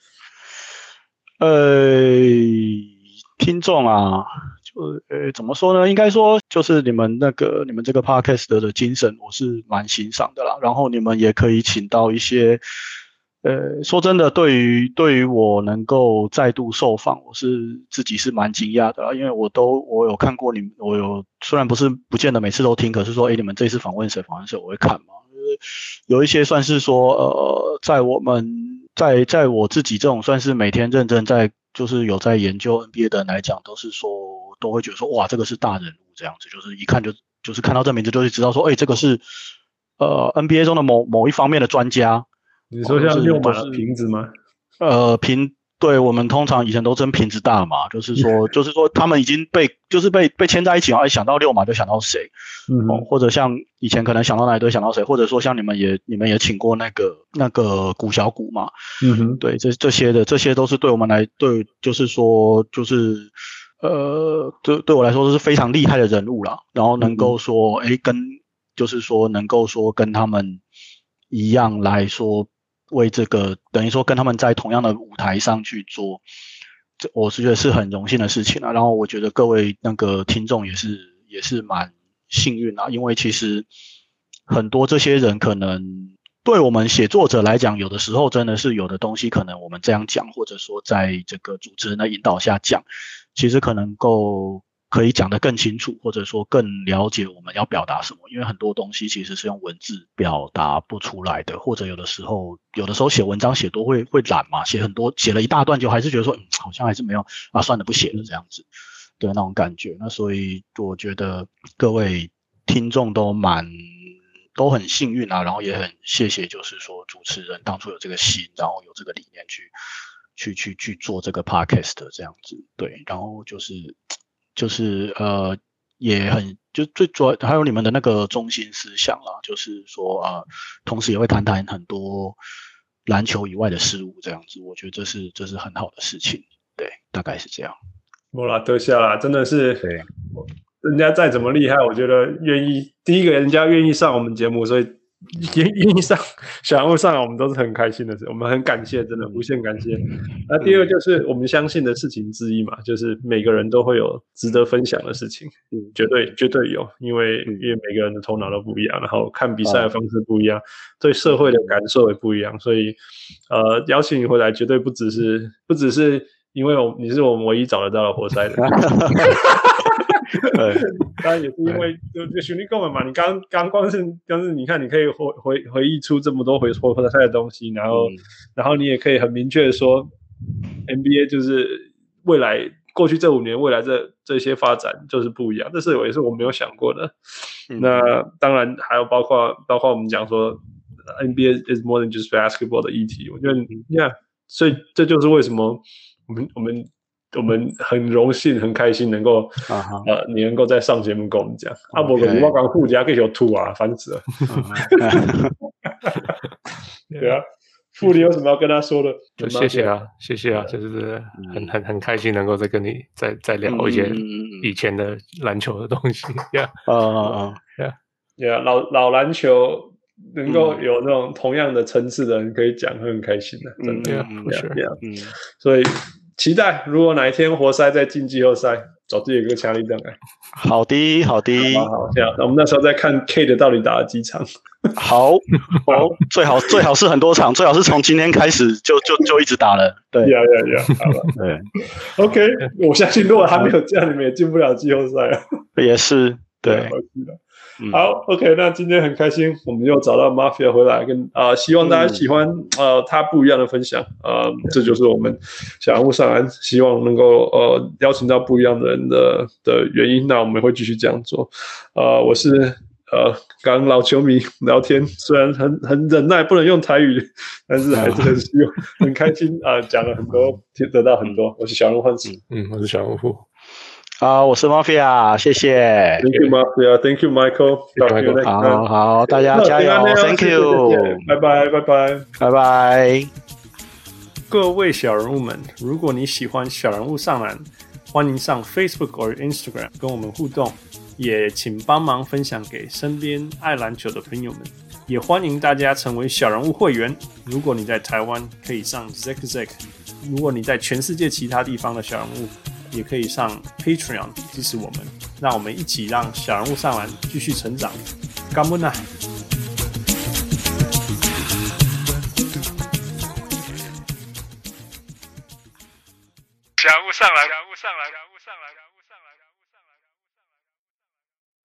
呃，聽眾啊，就呃怎麼說呢？應該說就是你們那個你們這個 podcast 的精神，我是蠻欣賞的啦。然後你們也可以請到一些。呃，說真的，對於對於我能夠再度受訪，我是自己是蠻驚訝的啦，因為我都我有看過你們，我有雖然不是不見得每次都聽，可是說，誒，你們這次訪問誰訪問誰，我會看嘛。有一些算是說，呃，在我們在在我自己這種算是每天認真在就是有在研究 N B A 的人來講，都是說都會覺得說，哇，這個是大人物這樣子，就是一看就就是看到這名字就會知道說，誒，這個是呃 N B A 中的某某一方面的專家。 你說像六碼瓶子嗎？ 呃，瓶，對，我們通常以前都稱瓶子大嘛，就是說，就是說他們已經被，就是被被牽在一起，然後想到六碼就想到誰，嗯、哦，或者像以前可能想到哪一隊想到誰，或者說像你們也你們也請過那個那個古小古嘛，嗯哼，對，這這些的這些都是對我們來對，就是說就是呃，對對我來說都是非常厲害的人物啦，然後能夠說，哎、嗯，跟就是說能夠說跟他們一樣來說。為這個等於說跟他們在同樣的舞台上去做，這我是覺得是很榮幸的事情啊。然後我覺得各位那個聽眾也是也是蠻幸運啊，因為其實很多這些人可能對我們寫作者來講，有的時候真的是有的東西可能我們這樣講，或者說在這個主持人的引導下講，其實可能夠。可以講得更清楚，或者說更了解我們要表達什麼，因為很多東西其實是用文字表達不出來的，或者有的時候，有的時候寫文章寫多會會懶嘛，寫很多寫了一大段就還是覺得說，嗯，好像還是沒有啊，算了不寫了這樣子，對那種感覺。那所以我覺得各位聽眾都蠻都很幸運啊，然後也很謝謝，就是說主持人當初有這個心，然後有這個理念去去去去做這個 podcast 這樣子，對，然後就是。就是呃，也很就最主要還有你們的那個中心思想啦，就是說啊、呃，同時也會談談很多籃球以外的事物，這樣子，我覺得這是這是很好的事情，對，大概是這樣。 莫拉特夏啦，真的是， 對， 人家再怎麼厲害，我覺得願意第一個人家願意上我們節目，所以願願意上小人物上來，我們都是很開心的事，我們很感謝，真的無限感謝。那第二個就是我們相信的事情之一嘛，就是每個人都會有值得分享的事情，嗯、絕對絕對有，因為、嗯、因為每個人的頭腦都不一樣，然後看比賽的方式不一樣，嗯、對社會的感受也不一樣，所以呃，邀請你回來絕對不只是不只是因為我你是我們唯一找得到的活塞的。對，當然也是因為就就兄弟跟我們嘛，你剛剛光是光是你看，你可以回回回憶出這麼多回回回賽的東西，然後、嗯、然後你也可以很明確的說 ，N B A 就是未來過去這五年未來這這些發展就是不一樣，這是也是我沒有想過的。嗯、那當然還有包括包括我們講說 N B A is more than just basketball 的議題，我覺得呀，所以這就是為什麼我們我們。我們很榮幸、很開心能夠、uh-huh. 呃，你能夠再上節目跟我們講。阿伯哥，你我剛護家給有吐啊，煩死了。對啊，傅，你有什麼要跟他說的？ 就謝謝啊，謝謝啊，就是很很很開心能夠再跟你再再聊一些以前的籃球的東西。Yeah，啊啊啊，Yeah，Yeah，老老籃球能夠有那種同樣的層次的人可以講，會很開心的，真的。Yeah，Yeah，嗯，所以。期待，如果哪一天活塞再進季後賽，找自己一個強力燈來。好的，好的，好，好，這樣，那我們那時候再看 Kate 到底打了幾場。好，好，最好最好是很多場，最好是從今天開始就就就一直打了。對，呀呀呀，好了，對 ，OK， 我相信如果還沒有這樣，你們也進不了季後賽啊。也是，對。好 ，OK， 那今天很開心，我們又找到 Mafia 回來跟，跟、呃、啊，希望大家喜歡、嗯、呃他不一樣的分享，呃，這就是我們小人物上籃，希望能夠呃邀請到不一樣的人的的原因。那我們會繼續這樣做。呃，我是呃跟老球迷聊天，雖然很很忍耐，不能用台語，但是還是很希望很開心啊、呃，講了很多，得到很多。我是小人物幻視，嗯，我是小人物。好，我是 Mafia， 謝謝。Thank you, Mafia. Thank you, Michael. Talk to you next time. 好好，大家加油 ！Thank you， 拜拜，拜拜，拜拜。各位小人物們，如果你喜歡小人物上籃，歡迎上 Facebook 或 Instagram 跟我們互動，也請幫忙分享給身邊愛籃球的朋友們。也歡迎大家成為小人物會員。如果你在台灣，可以上 Zack Zack； 如果你在全世界其他地方的小人物，也可以上 Patreon 支持我們，讓我們一起讓小人物上籃繼續成長。感恩啊！小人物上籃。